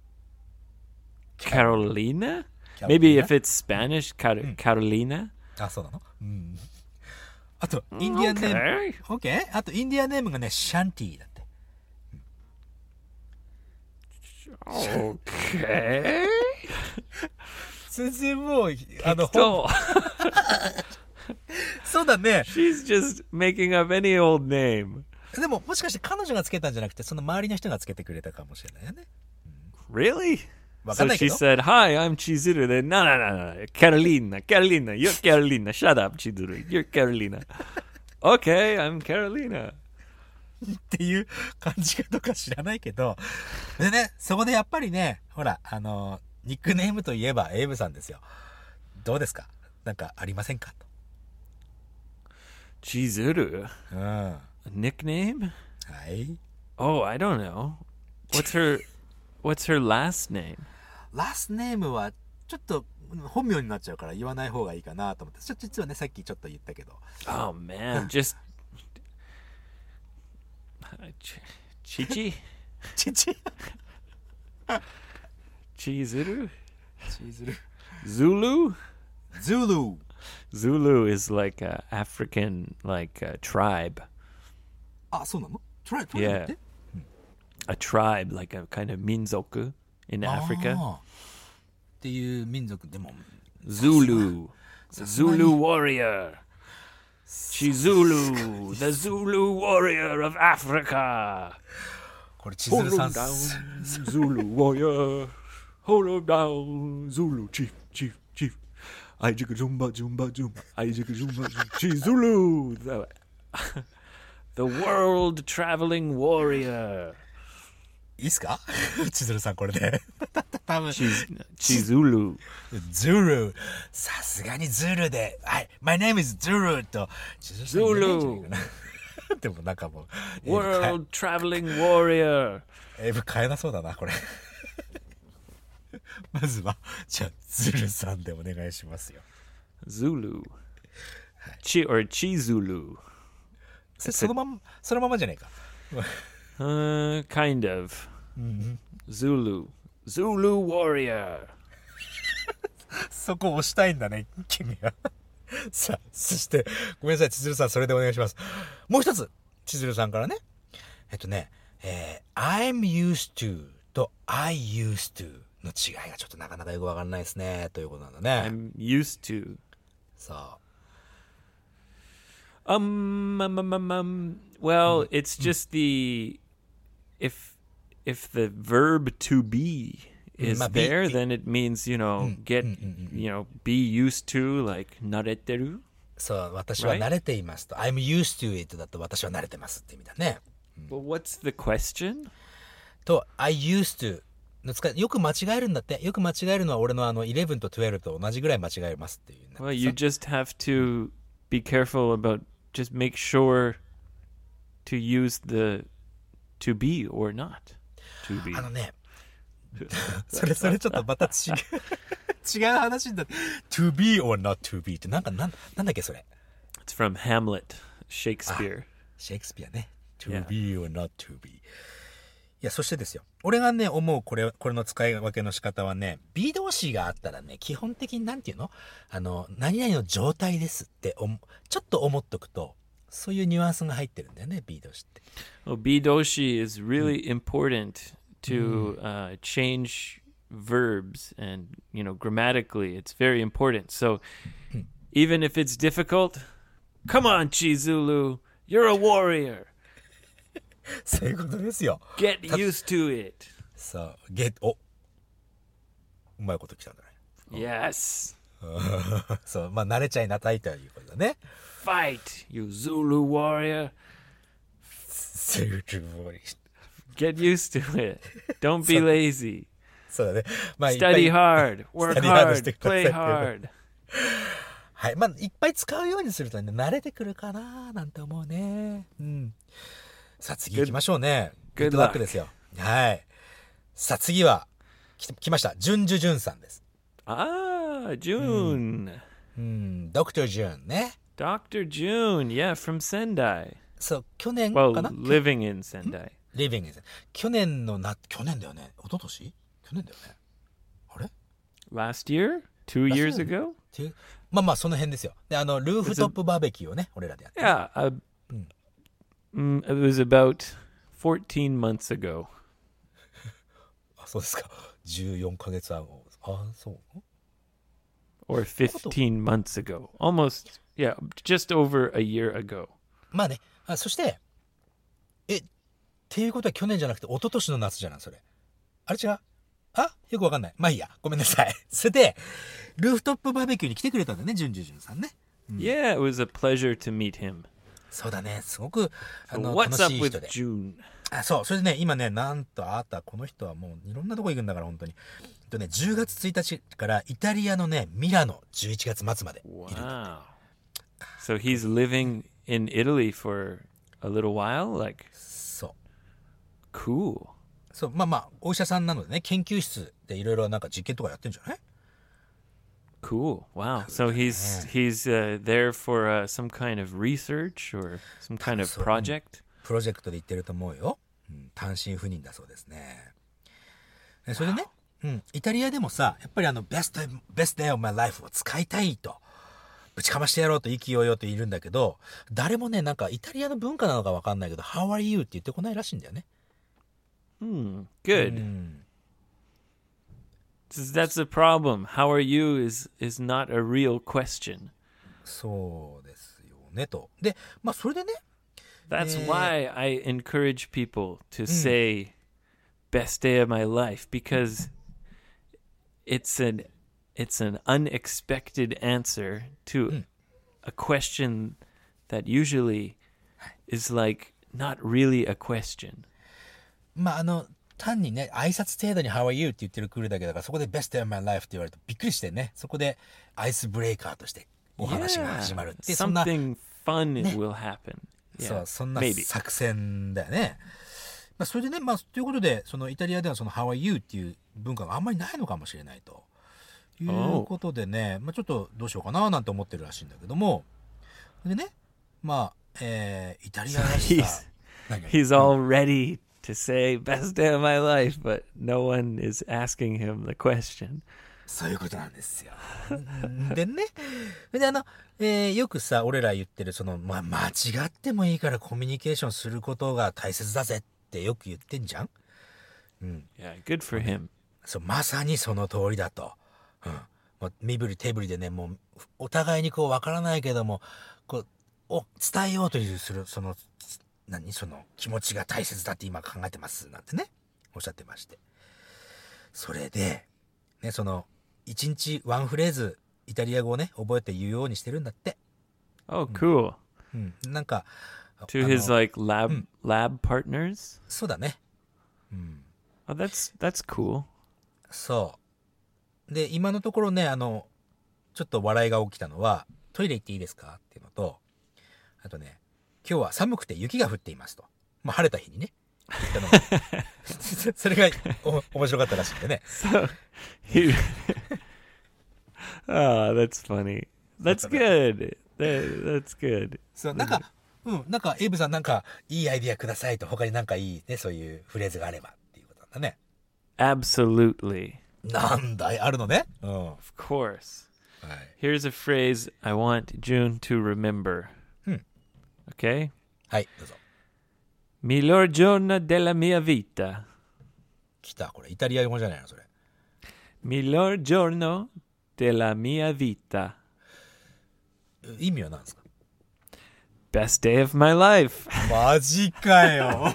Carolina? Carolina? Maybe if it's Spanish, Car- Carolina. あ、そうなの。うん。あと、インディアンネーム。 Okay. オッケー。あと、インディアンネームがね、シャンティだって。 Okay. 全然もう、あの、 So そうだね。 she's just making up any old name. でも、もしかして彼女がつけたんじゃなくて、その周りの人がつけてくれたかもしれないよね。 Really? わかん So ないけ she ど。 said, "Hi, I'm Chizuru." Then, no, no, no, no, Carolina, Carolina, you're Carolina. Shut up, Chizuru. You're Carolina. Okay, I'm Carolina. っていう感じかとか知らないけど。でね、そこでやっぱりね、ほら、あの、ニックネームといえばエイブさんですよ。どうですか？なんかありませんかと。 Chizuru, うん。は a nickname? い。 Oh, I don't know. What's her, what's her last name? ラストネームはちょっと本名になっちゃうから言わない方がいいかなと思って。ちょ実はね、さっきちょっと言ったけど。 Oh man, just Chichi, ちち。 Chizuru, チーズル。 Zulu. ズールー。 Zulu is like a African like a tribe. あ、そうなの？トライ、トライだっ Yeah, て？ a tribe like a kind of minzoku in あ Africa. ーっていう民族でも。 Zulu, さすがに Zulu warrior. Chizulu, the Zulu warrior of Africa. これチズル Hold さ him ん。 down, Zulu warrior. Hold him down, Zulu chief, chief, chief. I jigga zumba, zumba, zumba. I jigga zumba, zumba. Chizulu, the, the world traveling warrior. いいっすか？チズルさんこれで。多分。 Chiz, Chizulu. ズル。さすがにズルで。はい。My name is ズルと。チズルさん言えないんじゃないかな。でもなんかもう。 World traveling warrior. エイブ変えなそうだな、これ。まずは、じゃあ、ズルさんでお願いしますよ。 Zulu. Chi or Chizulu. そそのまま、そのままじゃないか。 Uh, kind of. Zulu. Zulu warrior. そこ押したいんだね、君は。さあ、そして、ごめんなさい、千鶴さん、それでお願いします。もう一つ、千鶴さんからね。えっとね、えー、I'm used to と I used to の違いがちょっとなかなかよくわかんないですね、ということなんだね。 I'm used to. そう。 Um, um, um, um, um well, it's just the if if the verb to be is Ma- be- there, be- then it means, you know, get, you know, be used to, like, nareteru. そう、私は慣れていますと。I'm used to it だと私は慣れてますって意味だね。 Well, what's the question? と、I used to の使い、よく間違えるんだって。よく間違えるのは俺のあのじゅういちとじゅうにと同じぐらい間違えますっていう。 Well, you just have to be careful about, just make sure to use the to be or not to be. あのね、それそれちょっとまた違う違う話になって to be or not to be ってなんかなんなんだっけそれ。 It's from Hamlet, Shakespeare. シェイクスピアね。to Yeah. be or not to be。 や、そしてですよ。俺がね、思うこれ、これの使い分けの仕方はね、be 動詞があったらね、基本的になんていうのあの、何々の状態ですっておも、ちょっと思っとくと、そういうニュアンスが入ってるんだよね、be 動詞って。 Well, bidoshi is really important to uh, change verbs and, you know, grammatically, it's very important. So even if it's difficult, come on, Chizulu, you're a warrior. そういうことですよ。 Get used to it. そう、get、お、うまいこときたんだね。 Yes. そう、まあ慣れちゃいなさいということだね。 Fight, you Zulu warrior. するぼり。 Get used to it. Don't be lazy. そうだね。まあ、いっぱい Study hard. Work Study hard し hard. てください Play hard. はい。まあ、いっぱい使うようにするとね、慣れてくるかななんて思うね。うん。さあ、次行きましょうね。 Good グッドラックですよ。はい。さあ、次は、来来ました。ジュンジュジュンさんです。 Ah, June. うん、ドクタージュンね。 Doctor June. Yeah, from Sendai. そう、去年 Well, かな living in Sendai. リビングです。去年のな、去年だよね。一昨年去年だよね。あれ Last year? Two years ago? っていうまあまあ、その辺ですよ。で、あの、ルーフトップバーベキューをね、俺らでやって。 Yeah. Uh, mm, it was about fourteen months ago. あ、そうですか。じゅうよんかげつはん。あ、そう Or fifteen months ago. Almost, yeah, just over a year ago. まあね。あ、そして、え、っていうことは去年じゃなくて一昨年の夏じゃないそれ。あれ違うあよくわかんない。まあいいや。ごめんなさい。それで、ルーフトップバーベキューに来てくれたんだね、ジュンジュジュンさんね。 Yeah, it was a pleasure to meet him. そうだね。すごく、あ So の、 what's 楽 up しい人 with で。 June? あ、そう。それでね、今ね、なんとあなた、この人はもういろんなとこ行くんだから、本当に。えっとね、じゅうがつついたちからイタリアのね、ミラノ、じゅういちがつ末までいるんだ。 Wow. So he's living in Italy for a little while? Like, そう。 cool. そう、まあまあ、お医者さんなのでね、研究室でいろいろなんか実験とかやってんじゃない Cool. Wow. So he's he's uh, there for uh, some kind of research or some kind of So, project? プロジェクトで行ってると思うよ。うん、単身赴任だそうですね。えそれでね、うん、イタリアでもさ、やっぱりあの、best, best day of my life を使いたいと、ぶちかましてやろうと意気揚々といるんだけど、誰もね、なんかイタリアの文化なのかわかんないけど、How are you? って言ってこないらしいんだよね。 Hmm. Good. うん。 That's that's the problem. How are you is is not a real question. そうですよね、と。で、まあそれでね、 That's Eh. why I encourage people to say best day of my life because it's an it's an unexpected answer to a question that usually is like not really a question. まああの、単にね、挨拶程度に How are you? って言ってるくるだけだから、そこで Best day of my life って言われるとびっくりしてね、そこでアイスブレーカーとしてお話が始まるって、そんな、 something fun will happen. そう Yeah, そんな maybe. 作戦だよね。まあ、それでね、まあ、ということで、そのイタリアではその How are you? っていう文化があんまりないのかもしれないと。いうことでね、まあ、ちょっとどうしようかななんて思ってるらしいんだけども。でね、まあ、えー、イタリアだしさ。 He's he's all ready to say best day of my life, but no one is asking him the question. そういうことなんですよ。でね。で、あの、えー、よくさ、俺ら言ってる、その、まあ、間違ってもいいからコミュニケーションすることが大切だぜってよく言ってんじゃん。うん。 Yeah, good for him. そう、まさにその通りだと。うん。もう身振り手振りでね、もう、お互いにこう、わからないけども、こう、お、伝えようというする、その、何その、気持ちが大切だって今考えてます。なんてね、おっしゃってまして。それで、ね、その、一日ワンフレーズ、イタリア語をね、覚えて言うようにしてるんだって。 Oh, cool. うん。なんか、 To あ his の like lab lab partners. そうだね。 Oh, that's that's cool. そう。で、今のところね、あの、ちょっと笑いが起きたのは、トイレ行っていいですかっていうのと、あとね、今日は寒くて雪が降っていますと。まあ、晴れた日にね。言ったのがそれがお面白かったらしくてね。 So he. Oh, that's funny. That's good. That, that's good. そう、なんか、 うん。なんか、エイブさんなんか、いいアイディアくださいと、他になんかいいね、そういうフレーズがあればっていうことなんだね。 Absolutely. なんだいあるのね。うん。は Of course. い。 Here's a phrase I want June to remember. Hmm. Okay? はい、どうぞ。 Miglior giorno della mia vita. 来た。これ、イタリア語じゃないの、それ。 Miglior giorno della mia vita. 意味は何ですか？ Best day of my life. マジかよ。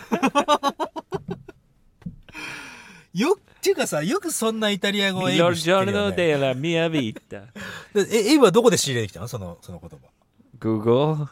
よっていうかさ、よくそんなイタリア語をエイ Miglior ブ知ってるよ giorno ね。 della mia vita. でえ、エイブはどこで仕入れてきたの？その、その言葉。 Google.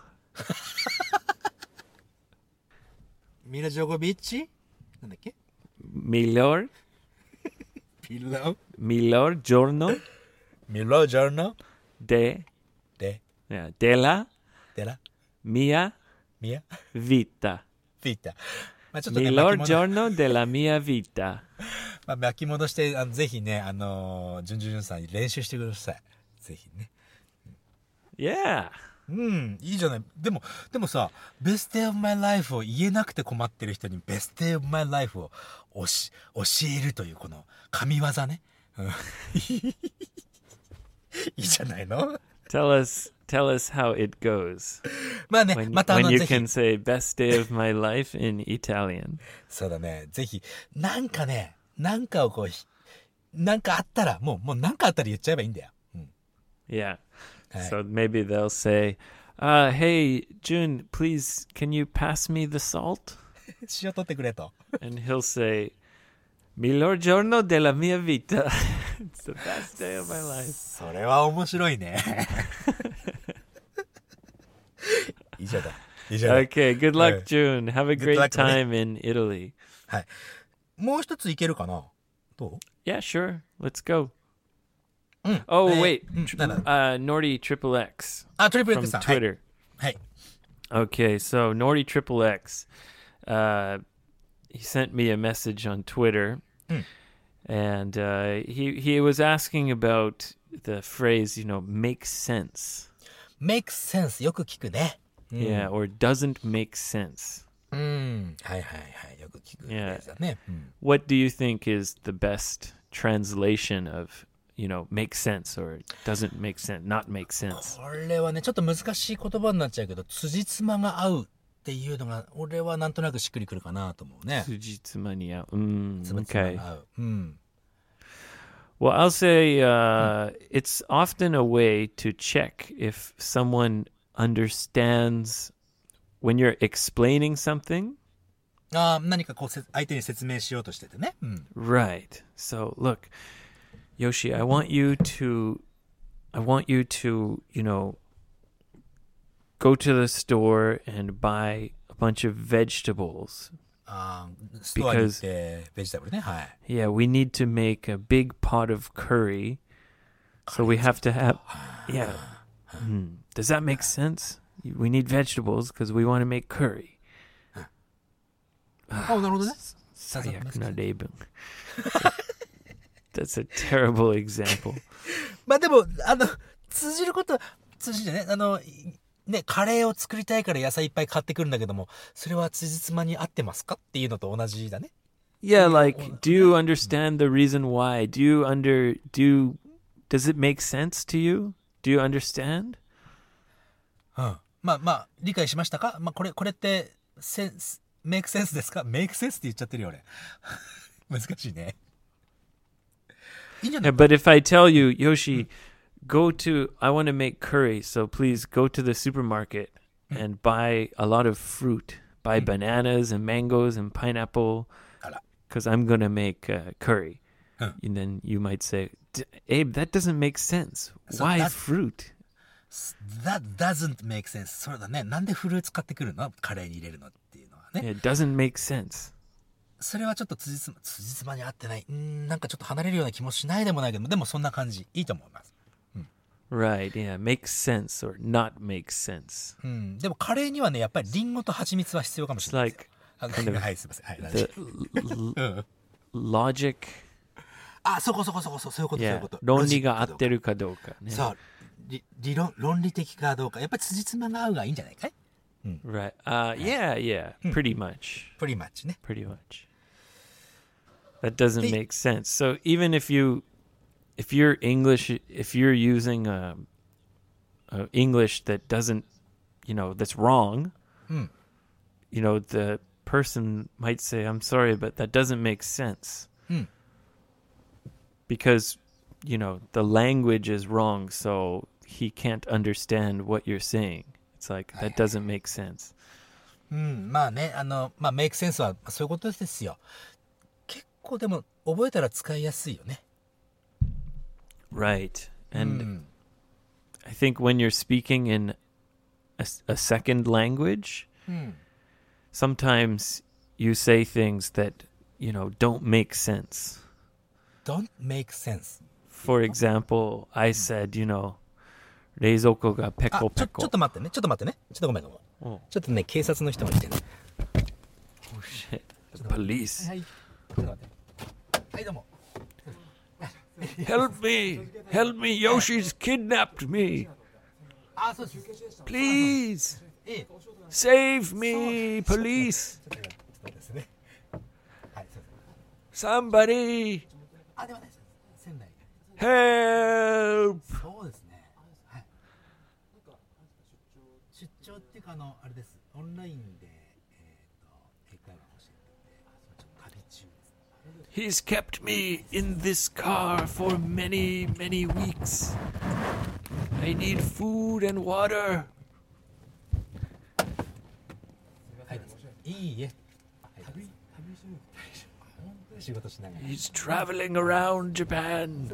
ミラジョゴビッチなんだっけ？ Miglior. ピロ Miglior giorno ミラジョーノ de, で、 yeah, della でら、 mia ミヤ、 vita. ピーター。まあちょっとね、 Miglior 巻き戻 giorno della mia vita. まあ、巻き戻して、あのぜひね、あのー、ジュンジュンジュンさん練習してください。ぜひね。 Yeah. うん、いいじゃない。でも、でもさ、Best Day of My Life を言えなくて困ってる人に Best Day of My Life をおし教えるというこの神業ね。うんいいじゃないの？ Tell us, tell us how it goes まあね、 when, またあ when の you ぜひ can say best day of my life in Italian. そうだね、ぜひ、なんかね、なんかをこうひ、なんかあったら、もう、もうなんかあったら言っちゃえばいいんだよ。うん。 Yeah. Hey. So maybe they'll say, uh, hey, June, please, can you pass me the salt? 塩取ってくれと。 And he'll say, Miglior giorno della mia vita. It's the best day of my life. それは面白いね。いいじゃない。いいじゃない。 Okay, good luck, Hey. June. Have a Good great luck, time in Italy. はい。もう一ついけるかな？どう？ Yeah, sure. Let's go. うん。 Oh, えー wait. うん、なんだ？ Uh, Nordy Triple X あ、トリプル from X さん。はい。 Twitter. はい。 Okay, so Nordy Triple X, uh, he sent me a message on Twitter, Mm. and uh, he he was asking about the phrase, you know, makes sense, Make sense よく聞くね。うん、 yeah, or doesn't make sense. うん。はいはいはい。よく聞くやつだね。うん、 What do you think is the best translation of, you know, make sense or doesn't make sense, not make sense? これはね、ちょっと難しい言葉になっちゃうけど、辻褄が合うっていうのが、俺はなんとなくしっくりくるかなと思うね。 Tsujitsumani-ao. Mm, つぶつま okay. が合う。うん。 Well, I'll say uh, it's often a way to check if someone understands when you're explaining something. ああ、何かこうせ、相手に説明しようとしててね。うん。 Right. So, look, Yoshi, I want you to, I want you to, you know, go to the store and buy a bunch of vegetables. ああ、ストアに行って、ベジタブルね。はい。 Yeah, we need to make a big pot of curry. So we have to have, yeah. Hmm. Does that make sense? We need vegetables because we want to make curry. ああ、なるほどね。 最悪な例文。That's a terrible example. まあでも、あの、通じることは、通じるね。あの、ね、カレーを作りたいから野菜いっぱい買ってくるんだけども、それは辻褄に合ってますかっていうのと同じだね。 Yeah, like, do you understand the reason why? Do you under, do you, does it make sense to you? Do you understand? うん。まあまあ、理解しましたか？まあこれ、これって、センス、メイクセンスですか？メイクセンスって言っちゃってるよ、俺。難しいね。いいんじゃない Yeah, but if I tell you, Yoshi, go to, I want to make curry, so please go to the supermarket and buy a lot of fruit. Buy bananas and mangoes and pineapple, あら。 because I'm going to make uh, curry. Huh. And then you might say, "D- Abe, that doesn't make sense. So Why that- fruit? That doesn't make sense. そうだね。なんでフルーツ買ってくるの？カレーに入れるのっていうのはね。 It doesn't make sense. それはちょっと辻褄、辻褄に合ってない。うーん、なんかちょっと離れるような気もしないでもないけど、でもそんな感じ。いいと思います。 Right, yeah, makes sense or not makes sense. うん。でもカレーにはね、やっぱりリンゴと蜂蜜は必要かもし It's れないですよ。 like あはい、すいません。はい、大 the 丈 l- 夫。うん。 logic, あ、そこそこそこ、そういうこと、そういう yeah, こと。 論理が合ってる。 るかどうかね。 そう。理理論、論理的かどうか。やっぱり辻褄が合うがいいんじゃないかい？ Right. Uh, yeah, yeah. Pretty much. pretty much ね。 Pretty much. That doesn't Hey. make sense. So even if you, if you're English, if you're using a, a English that doesn't, you know, that's wrong, Hmm. you know, the person might say, "I'm sorry, but that doesn't make sense." Hmm. Because, you know, the language is wrong, so he can't understand what you're saying. It's like, that doesn't make sense. うん、まあね、あの、まあ、メイクセンスはそういうことですよ。結構でも、覚えたら使いやすいよね。 Right. And うん、 I think when you're speaking in a, a second language, うん、 sometimes you say things that, you know, don't make sense. don't make sense. For example, I said, you know, 冷蔵庫がペあ、 コペちょ、ちょっコ。 と待ってね、ちょっと待ってね。ちょっとごめんごめん。 Oh, ちょっとね、警察の人が来てね。 oh shit. The police. はい。ちょっと待って。はい、どうも。 Help me! Help me! Yoshi's kidnapped me! あ、そうです。 Please! ええ。 Save me! Police! ちょっとそうですね。はい、そうです。 Somebody! あ、ではないです。仙台。 Help! そうですね。はい。出張っていうか、あの、あれです。オンラインで、えっと、英会話を教えてて、ちょっと仮中です。 He's kept me in this car for many, many weeks. I need food and water. はい。いいえ。はい。仕事しながら。 He's traveling around Japan.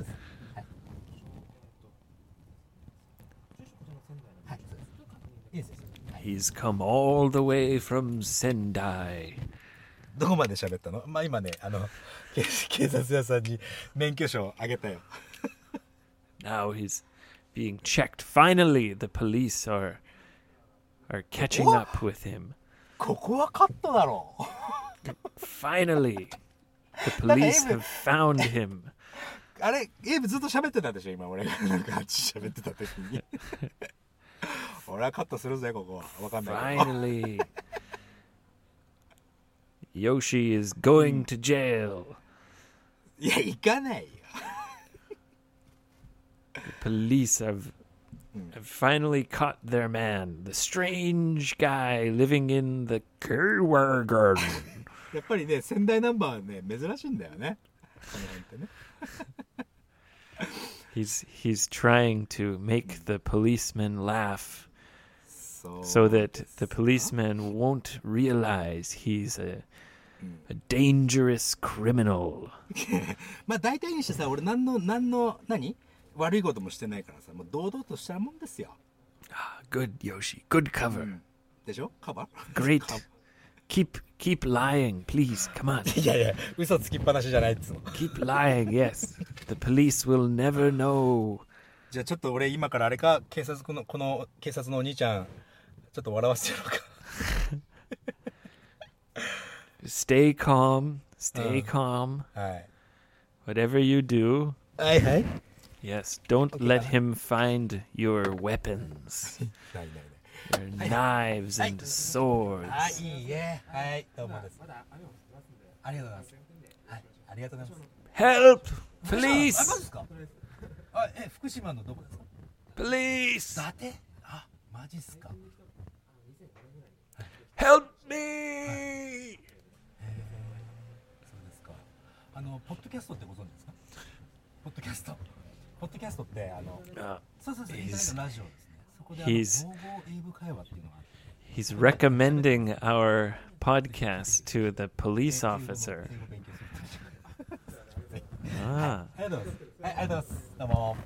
はい、そうです。いいです。 He's come all the way from Sendai. どこまで喋ったの？まあ今ね、あの、警警察屋さんに免許証をあげたよ。 Now he's being checked. Finally, the police are are catching What? up with him. ここはカットだろう。 Finally, the police have found him. あれ、エイブずっと喋ってたでしょ今俺がなんかあっち喋ってた時に。俺はカットするぜここは。わかんないけど。 Finally, Yoshi is going to jail. いや、行かないよ。 The police have have finally caught their man, the strange guy living in the Kerwer garden. やっぱりね、仙台ナンバーはね、珍しいんだよね。この辺ってね。 He's he's trying to make the policeman laugh そう。 so that the policeman won't realize he's a a dangerous criminal. まあ大体にしてさ、俺何の、何の、何悪いこともしてないからさ、もう堂々としたもんですよ。 Ah, good Yoshi, good cover. でしょカバー Great. Keep keep lying, please. Come on. いやいや、嘘つきっぱなしじゃないっつうの。 Keep lying. Yes. The police will never know. じゃあちょっと俺今からあれか、警察この、この警察のお兄ちゃん、ちょっと笑わせてやろうか。 Stay calm. Stay Uh. calm. はい。 Whatever you do, はいはい。 yes, don't Okay, let uh. him find your weapons. ないないない。 Your knives and swords. あ、いいえ。はい、どうもです。ありがとうございます。はい、ありがとうございます。 Help! あ、マジ Police! ですか？あ、え、福島のどこですか？ Police! 伊達？あ、マジっすか？ Help me! そうですか。あの、ポッドキャストってご存知ですか？ポッドキャスト。ポッドキャストってあの、 Uh, そうそうそう、インターネットラジオですね。そこであ He's- の、統合英語会話っていうのがあって。 he's recommending our podcast to the police 英語の officer. 英語勉強するって Ah. ありがとうございます。はい、ありがとうございます。どうも。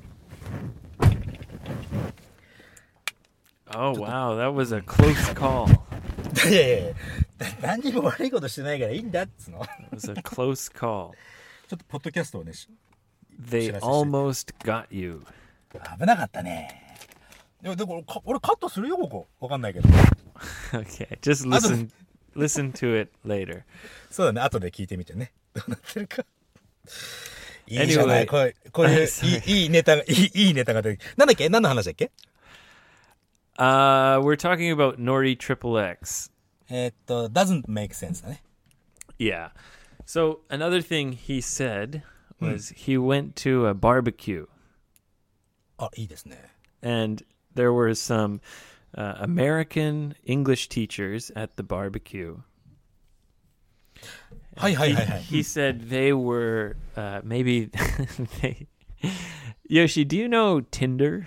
Oh, wow. That was a close call. いやいやいや、何にも悪いことしてないからいいんだっつうの。 It was a close call. ちょっとポッドキャストをね、し They almost got you. 危なかったね。でも、でもか俺カットするよ、ここ。わかんないけど。 Okay, just listen listen to it later. そうだね、後で聞いてみてね。どうなってるか。いいじゃない、 Anyway. こういう、こういう Sorry. いい、いいネタが、いい、いいネタが出て。なんだっけ？何の話だっけ？ Uh, we're talking about Nori Triple X. えーっと、doesn't make sense だね。 Yeah. So another thing he said was he went to a barbecue あ、いいですね。 and there were some uh, American English teachers at the barbecue. はいはいはいはい。 He said they were uh, maybe they. Yoshi, do you know Tinder?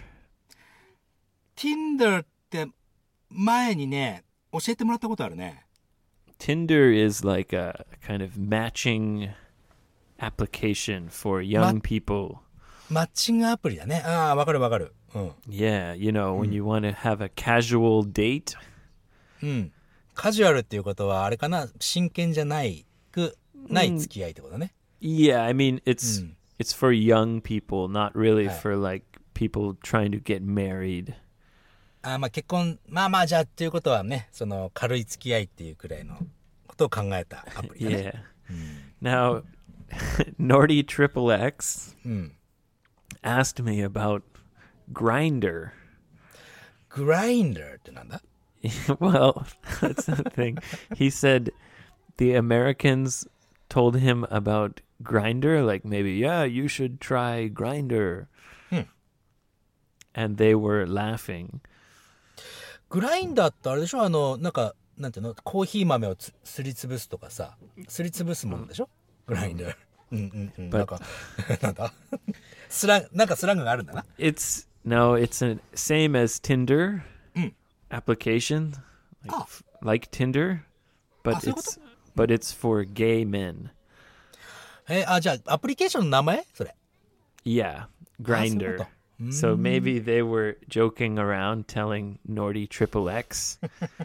Tinder って前にね、教えてもらったことあるね。 Tinder is like a kind of matching application for young Ma- people. マッチングアプリだね。ああ、わかるわかる。うん。 Yeah, you know, when you want to have a casual date. うん。カジュアルっていうことは、あれかな、真剣じゃないく、ない付き合いってことね。 Yeah, I mean, it's Mm. it's for young people, not really Right. for like people trying to get married. あーまあ結婚、まあまあじゃあっていうことはね、その軽い付き合いっていうくらいのことを考えたアプリだね。 Yeah. Now, Nordy Triple X うん。 asked me about Grinder. グラインダーってなんだ？ Well, that's the thing. He said the Americans told him about Grinder, like maybe, yeah, you should try Grinder. Hmm. And they were laughing. グラインダーってあれでしょ、あの、なんか、なんていうの、コーヒー豆をつすりつぶすとかさ、すりつぶすものでしょ、グラインダー。うんうんうん。なんか、なんだスラン、なんかスラングがあるんだな。 It's no, it's a same as Tinder application, like, Oh. f- like Tinder, but Ah,そういうこ it's but it's for gay men. えーあ、じゃあ、アプリケーションの名前それ。 Yeah, そういう Grinder. こと。 So maybe they were joking around, telling Nordy Triple X,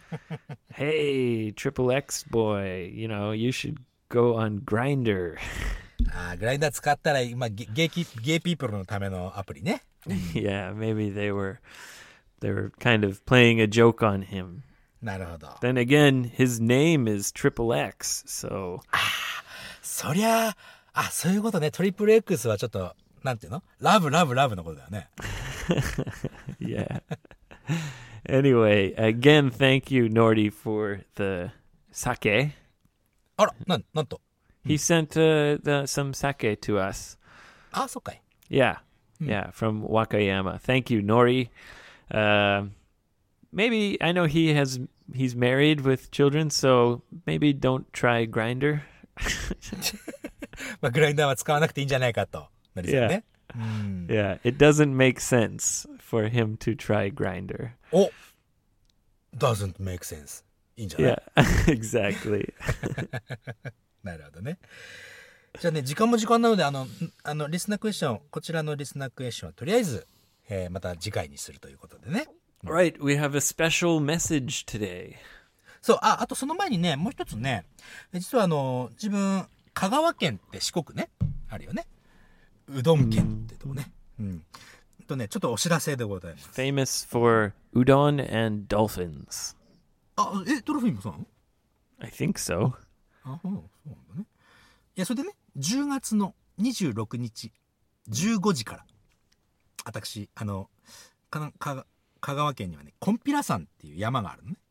"Hey, Triple X boy, you know you should go on Grinder." あーグラインダー使ったら、今、ゲゲイキゲイピープルのためのアプリね。 Yeah, maybe they were they were kind of playing a joke on him. なるほど。 Then again, his name is Triple X, so そりゃあ、あ、そういうことね。トリプル X はちょっと、なんていうの、ラブラブラブのことだよね。 yeah. Anyway, again, thank you, Nordy, for the sake. あら、なん、なんと。 He sent uh, the, some sake to us. あ、そっかい。 Yeah, yeah, from Wakayama. Thank you, Nori. Uh, maybe I know he has he's married with children, so maybe don't try Grinder. まあ、グラインダーは使わなくていいんじゃないかと。なりそうね。 Yeah, it doesn't make sense for him to try Grinder. お !doesn't make sense. いいんじゃない Yeah, exactly. なるほどね。じゃあね、時間も時間なので、あの、んあの、リスナークエスチョン、こちらのリスナークエスチョンはとりあえず、えーまた次回にするということでね。 Right, we have a special message today. そう、あ、あとその前にね、もう一つね、実はあの、自分、香川県って四国ね、あるよね。うどん県ってとこね。うん。とね、ちょっとお知らせでございます。 Famous for udon and dolphins. あ、え、ドルフィンもそうなの？ I think so. あ、そうそうなんだね。いや、それでね、じゅうがつのにじゅうろくにち、じゅうごじから、私、あの、かな、か、香川県にはね、コンピラ山っていう山があるのね。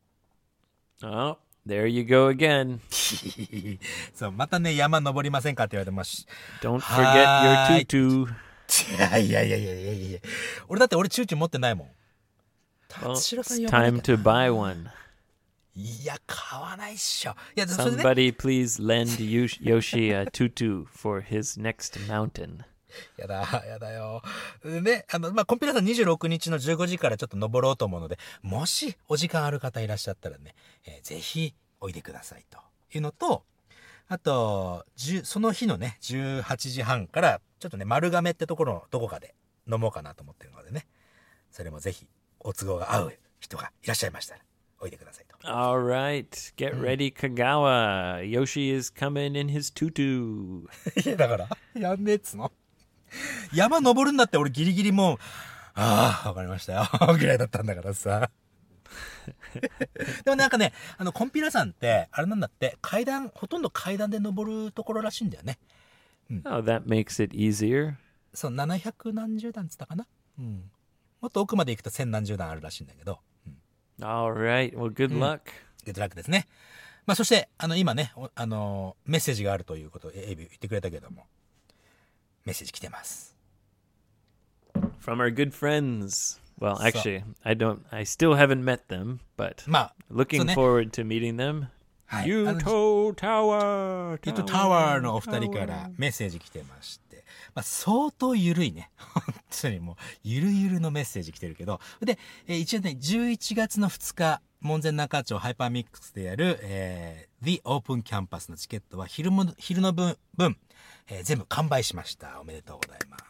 Oh, there you go again. そう、またね、山登りませんかって言われてますし。 Don't forget your Hi. tutu. いやいやいやいやいやいや俺だって俺チューチュー持ってないもん。 Well, 達郎さん it's 呼ばな time きゃ to buy one. いや、買わないっしょ。いや、それでね、 Somebody please lend Yosh- Yoshi a tutu for his next mountain. やだ、やだよ。でね、あの、まあ、コンピラさんにじゅうろくにちのじゅうごじからちょっと登ろうと思うので、もしお時間ある方いらっしゃったらね、えーぜひおいでくださいというのと、あと、じゅうその日のね、じゅうはちじはんから、ちょっとね、丸亀ってところのどこかで飲もうかなと思ってるのでね、それもぜひお都合が合う人がいらっしゃいましたら、おいでくださいと。 All right, get ready, Kagawa. Yoshi is coming in his tutu. いや、だから、やんねえっつの。山登るんだって俺ギリギリもう、ああ、わかりましたよ。ぐらいだったんだからさ。でもなんかね、あの、コンピラ山って、あれなんだって、階段、ほとんど階段で登るところらしいんだよね。 Oh, that makes it easier. そう、ななひゃくなんじゅうだんつったかな。うん。もっと奥まで行くと千何十段あるらしいんだけど。うん Alright, well, good luck. Good luck ですね。まあそして、あの、今ね、あの、メッセージがあるということをエイビー言ってくれたけども、メッセージ来てます。 From our good friends. Well, actually, I don't, I still haven't met them, but まあ、 looking forward to meeting them. はい。 Yuto Tower! Yuto Tower のお二人からメッセージ来てまして、まあ相当ゆるいね。本当にもう、ゆるゆるのメッセージ来てるけど、で、えー、一応ね、じゅういちがつのふつか、門前仲町ハイパーミックスでやる、えー、The Open Campus のチケットは昼も、昼の分、分えー、全部完売しました。おめでとうございます。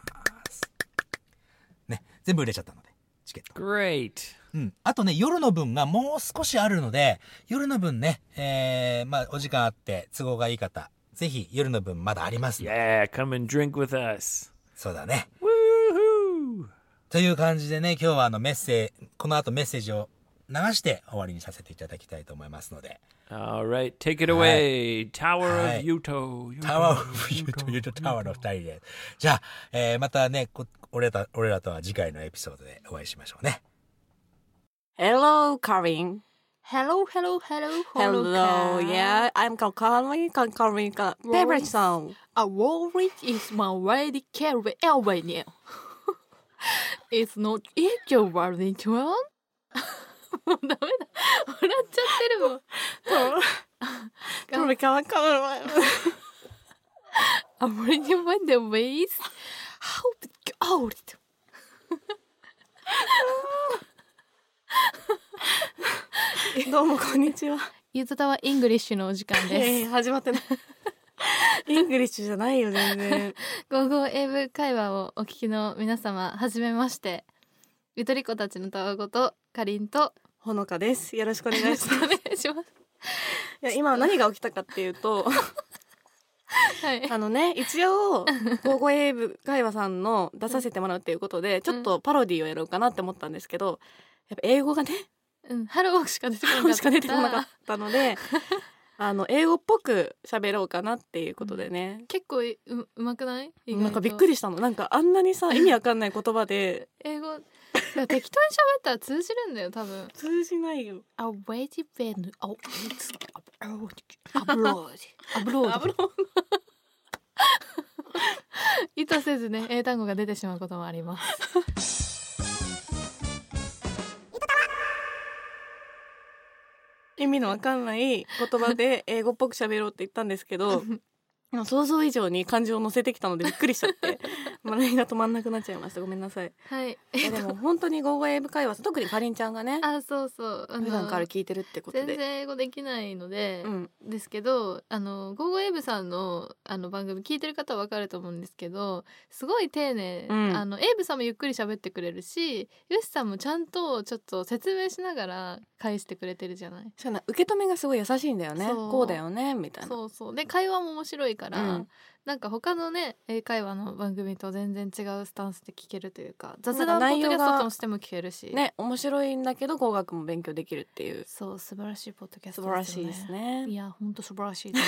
ね、全部売れちゃったので、チケット。 Great! うん。あとね、夜の分がもう少しあるので、夜の分ね、えー、まあ、お時間あって、都合がいい方、ぜひ夜の分まだありますので。 Yeah, come and drink with us. そうだね。 Woohoo! という感じでね、今日はあのメッセージ、この後メッセージを流して終わりにさせていただきたいと思いますので。 Alright, take it away. Tower of Yuto. Tower of Yuto, Yuto Tower の二人で。じゃあ、えー、またね、こ俺らと、俺らとは次回のエピソードでお会いしましょうね。 Hello, Karin. Hello, hello, hello, hello. Yeah, I'm Karin. Karin, favorite song. A worry is my lady carry away now. It's not it your worry to one? もうダメだ。笑っちゃってるもん。 Karin, Karin, Karin. I'm ready when the ways. How old? どうもこんにちは。 ゆずたわイングリッシュのお時間です。 えー、始まってない。イングリッシュじゃないよ全然。 ゴーゴー英語会話をお聞きの皆様、はじめまして。ゆとり子たちのたわごとかりんとほのかです。よろしくお願いします。 お願いします。 いや今何が起きたかっていうと。はい、あのね一応「ゴーゴー英語会話」さんの出させてもらうっていうことで、うん、ちょっとパロディをやろうかなって思ったんですけど、やっぱ英語がね、 うん、ハローしか出てこなかったしか出てこなかったのであの英語っぽく喋ろうかなっていうことでね、 うん、結構 う, うまくない？ なんかびっくりしたの。なんかあんなにさ意味わかんない言葉で英語適当に喋ったら通じるんだよ多分。 通じないよ。 A waiting bed oh it's abroad abroad abroad 意図せずね英単語が出てしまうこともあります。 意味のわかんない言葉で英語っぽく喋ろうって言ったんですけど想像以上に漢字を乗せてきたのでびっくりしちゃって笑いが止まんなくなっちゃいました。ごめんなさい。 はい。 いやでも本当にゴーゴー英語会話、特にかりんちゃんがね、 あ、そうそう、 あの普段から聞いてるってことで全然英語できないので、 うん、 ですけど、あのゴーゴー英語さんのあの番組聞いてる方はわかると思うんですけど、すごい丁寧、うん、あの英語さんもゆっくり喋ってくれるし、よしさんもちゃんとちょっと説明しながら返してくれてるじゃない。 そうな、受け止めがすごい優しいんだよね。こうだよねみたいな。 そうそう。で会話も面白いから。うん、なんか他のね英会話の番組と全然違うスタンスで聞けるというか、雑談ポッドキャストとしても聞けるしね、面白いんだけど語学も勉強できるっていう、 そう素晴らしいポッドキャストですよね。素晴らしいですね。 いや本当素晴らしいです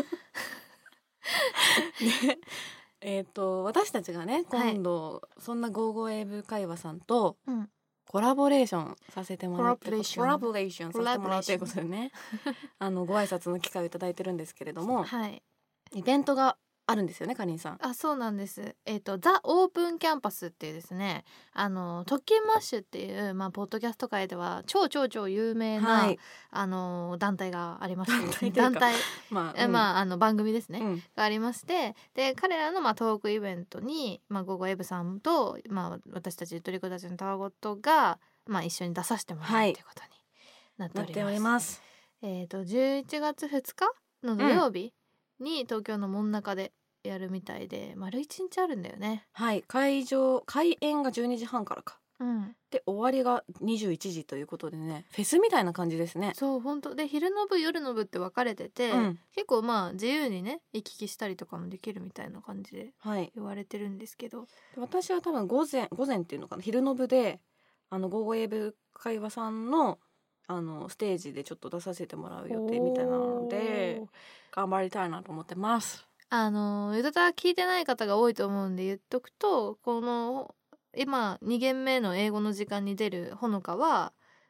ね。ねえっと私たちがね今度、はい、そんなゴーゴー英語会話さんとコラボレーションさせてもらって、コラボレーションコラボレーションさせてもらうということでねあのご挨拶の機会をいただいてるんですけれども、 はい、 イベントがあるんですよね、かりんさん。 あ、そうなんです。えっとザ・オープンキャンパスっていうですね、あの特勤マッシュっていう、まあ、ポッドキャスト界では超超超有名な、はい、あの団体がありまして団体まあ、うん、まあ、あの番組ですね、うん、がありまして、で彼らの、まあ、トークイベントに、まあ、ゴーゴーエブさんと、まあ、私たちゆとり子たちのたわごとが、まあ、一緒に出させてもらう、はい、ということになっております。なっております。えっとじゅういちがつふつかの土曜日に東京の真ん中でやるみたいで、丸一日あるんだよね。 はい、会場開演がじゅうにじはんからか、 うん、 で終わりがにじゅういちじということでね、フェスみたいな感じですね。 そう本当で、昼の部夜の部って分かれてて、うん、結構まあ自由にね行き来したりとかもできるみたいな感じで言われてるんですけど、はい、 私は多分午前午前っていうのかな、昼の部であのゴーゴー英語会話さんのあのステージでちょっと出させてもらう予定みたいなので頑張りたいなと思ってます。 あのゆとたわ聞いてない方が多いと思うんで言っとくと、この今に限目の英語の時間に出るほのかは、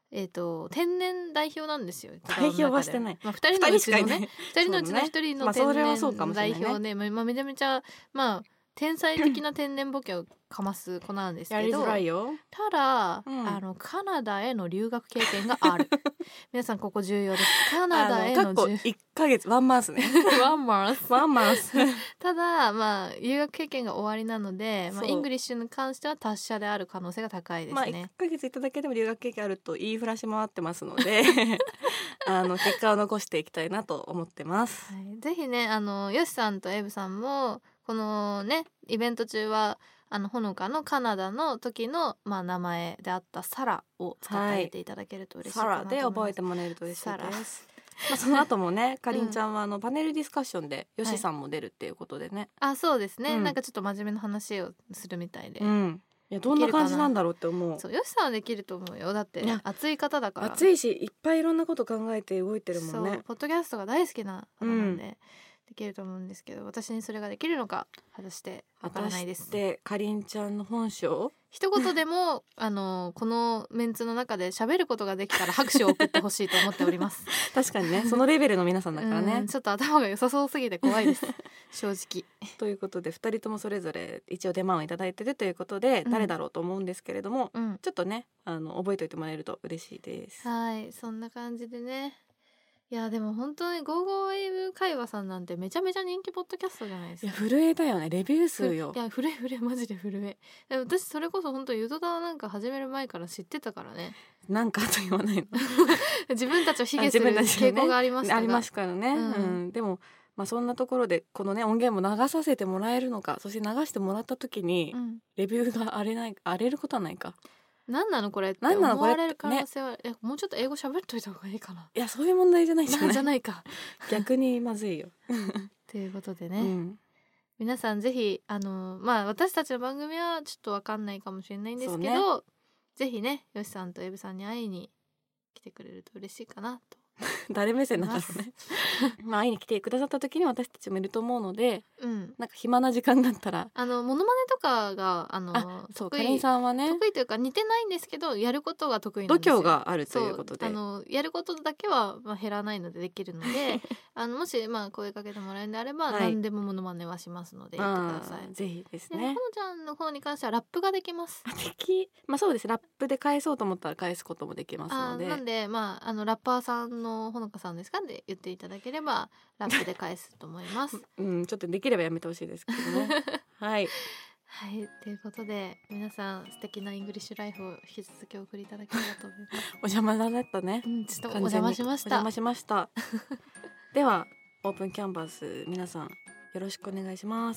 えー、と天然代表なんですよ。 代表はしてない、 まあ、ふたりのうちのねふたりのうちのひとりの天然代表で、まあ、めちゃめちゃまあ天才的な天然ボケをかます子なんですけどやりづらいよ。 ただ、 うん、 あのカナダへの留学経験がある皆さんここ重要です。カナダへの過去いっかげつワンマンスねワンマンスワンマンスただまあ留学経験が終わりなので、まあ、イングリッシュに関しては達者である可能性が高いですね。 まあ、いっかげついただけでも留学経験あると言いふらし回ってますのであの結果を残していきたいなと思ってます、 はい、ぜひねあのヨシさんとエブさんもこのねイベント中はあのほのかのカナダの時の、まあ、名前であったサラを使ってあげていただけると嬉しいかなと思います。 サラで覚えてもらえると嬉しいです。まあ、その後もねかりんちゃんはあのパネルディスカッションでヨシさんも出るっていうことでね、はい、 あそうですね、 うん、 なんかちょっと真面目な話をするみたいで、 うん、いやどんな感じなんだろうって思う。 そうヨシさんはできると思うよ。だって熱い方だから。 熱いしいっぱいいろんなこと考えて動いてるもんね。 そうポッドキャストが大好きな方なんで、うん、できると思うんですけど私にそれができるのか果たしてわからないです。 でかりんちゃんの本性一言でもあのこのメンツの中で喋ることができたら拍手を送ってほしいと思っております確かにねそのレベルの皆さんだからねちょっと頭が良さそうすぎて怖いです正直ということでふたりともそれぞれ一応出番をいただいてるということで、うん、誰だろうと思うんですけれども、うん、ちょっとねあの覚えておいてもらえると嬉しいです。 はいそんな感じでね。いやでも本当にゴーゴーエイブ会話さんなんてめちゃめちゃ人気ポッドキャストじゃないですか。 いや震えたよねレビュー数よ。 いや震え震えマジで震え。私それこそ本当ゆとたなんか始める前から知ってたからね。 なんかと言わないの自分たちを卑下する傾向がありましたが、 ね、ありますからね、うんうん、でもまあそんなところでこのね音源も流させてもらえるのかそして流してもらった時に、うん、レビューが荒れない荒れることはないか。 何なのこれって思われる可能性は、ね、えもうちょっと英語喋っといた方がいいかな。 いやそういう問題じゃないじゃないじゃないか逆にまずいよということでね、 うん、 皆さんぜひあのまあ私たちの番組はちょっと分かんないかもしれないんですけど、ね、ぜひねよしさんとエブさんに会いに来てくれると嬉しいかなと誰目線なんだろうねまあ会いに来てくださった時に私たちもいると思うので、うん、なんか暇な時間だったらあのモノマネとかがあのあそうかりんさんはね得意というか似てないんですけどやることが得意なんですよ。 度胸があるということであのやることだけは、まあ、減らないのでできるのであのもし、まあ、声かけてもらえるんであれば、はい、何でもモノマネはしますので言ってください。 ぜひですね。 ほのちゃんの方に関してはラップができます。 できまあそうですラップで返そうと思ったら返すこともできますので、 あなんでまああのラッパーさんのほのかさんですかで言っていただければラップで返すと思いますうんちょっとできればやめてほしいですけどねはいはいということで皆さん素敵なイングリッシュライフを引き続きお送りいただければと思いますお邪魔だったね、 うん、ちょっとお邪魔しましたお邪魔しましたではオープンキャンバス皆さんよろしくお願いします。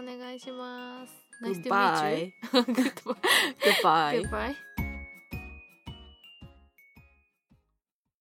よろしくお願いします。 Nice to meet you. Goodbye. Goodbye. Goodbye.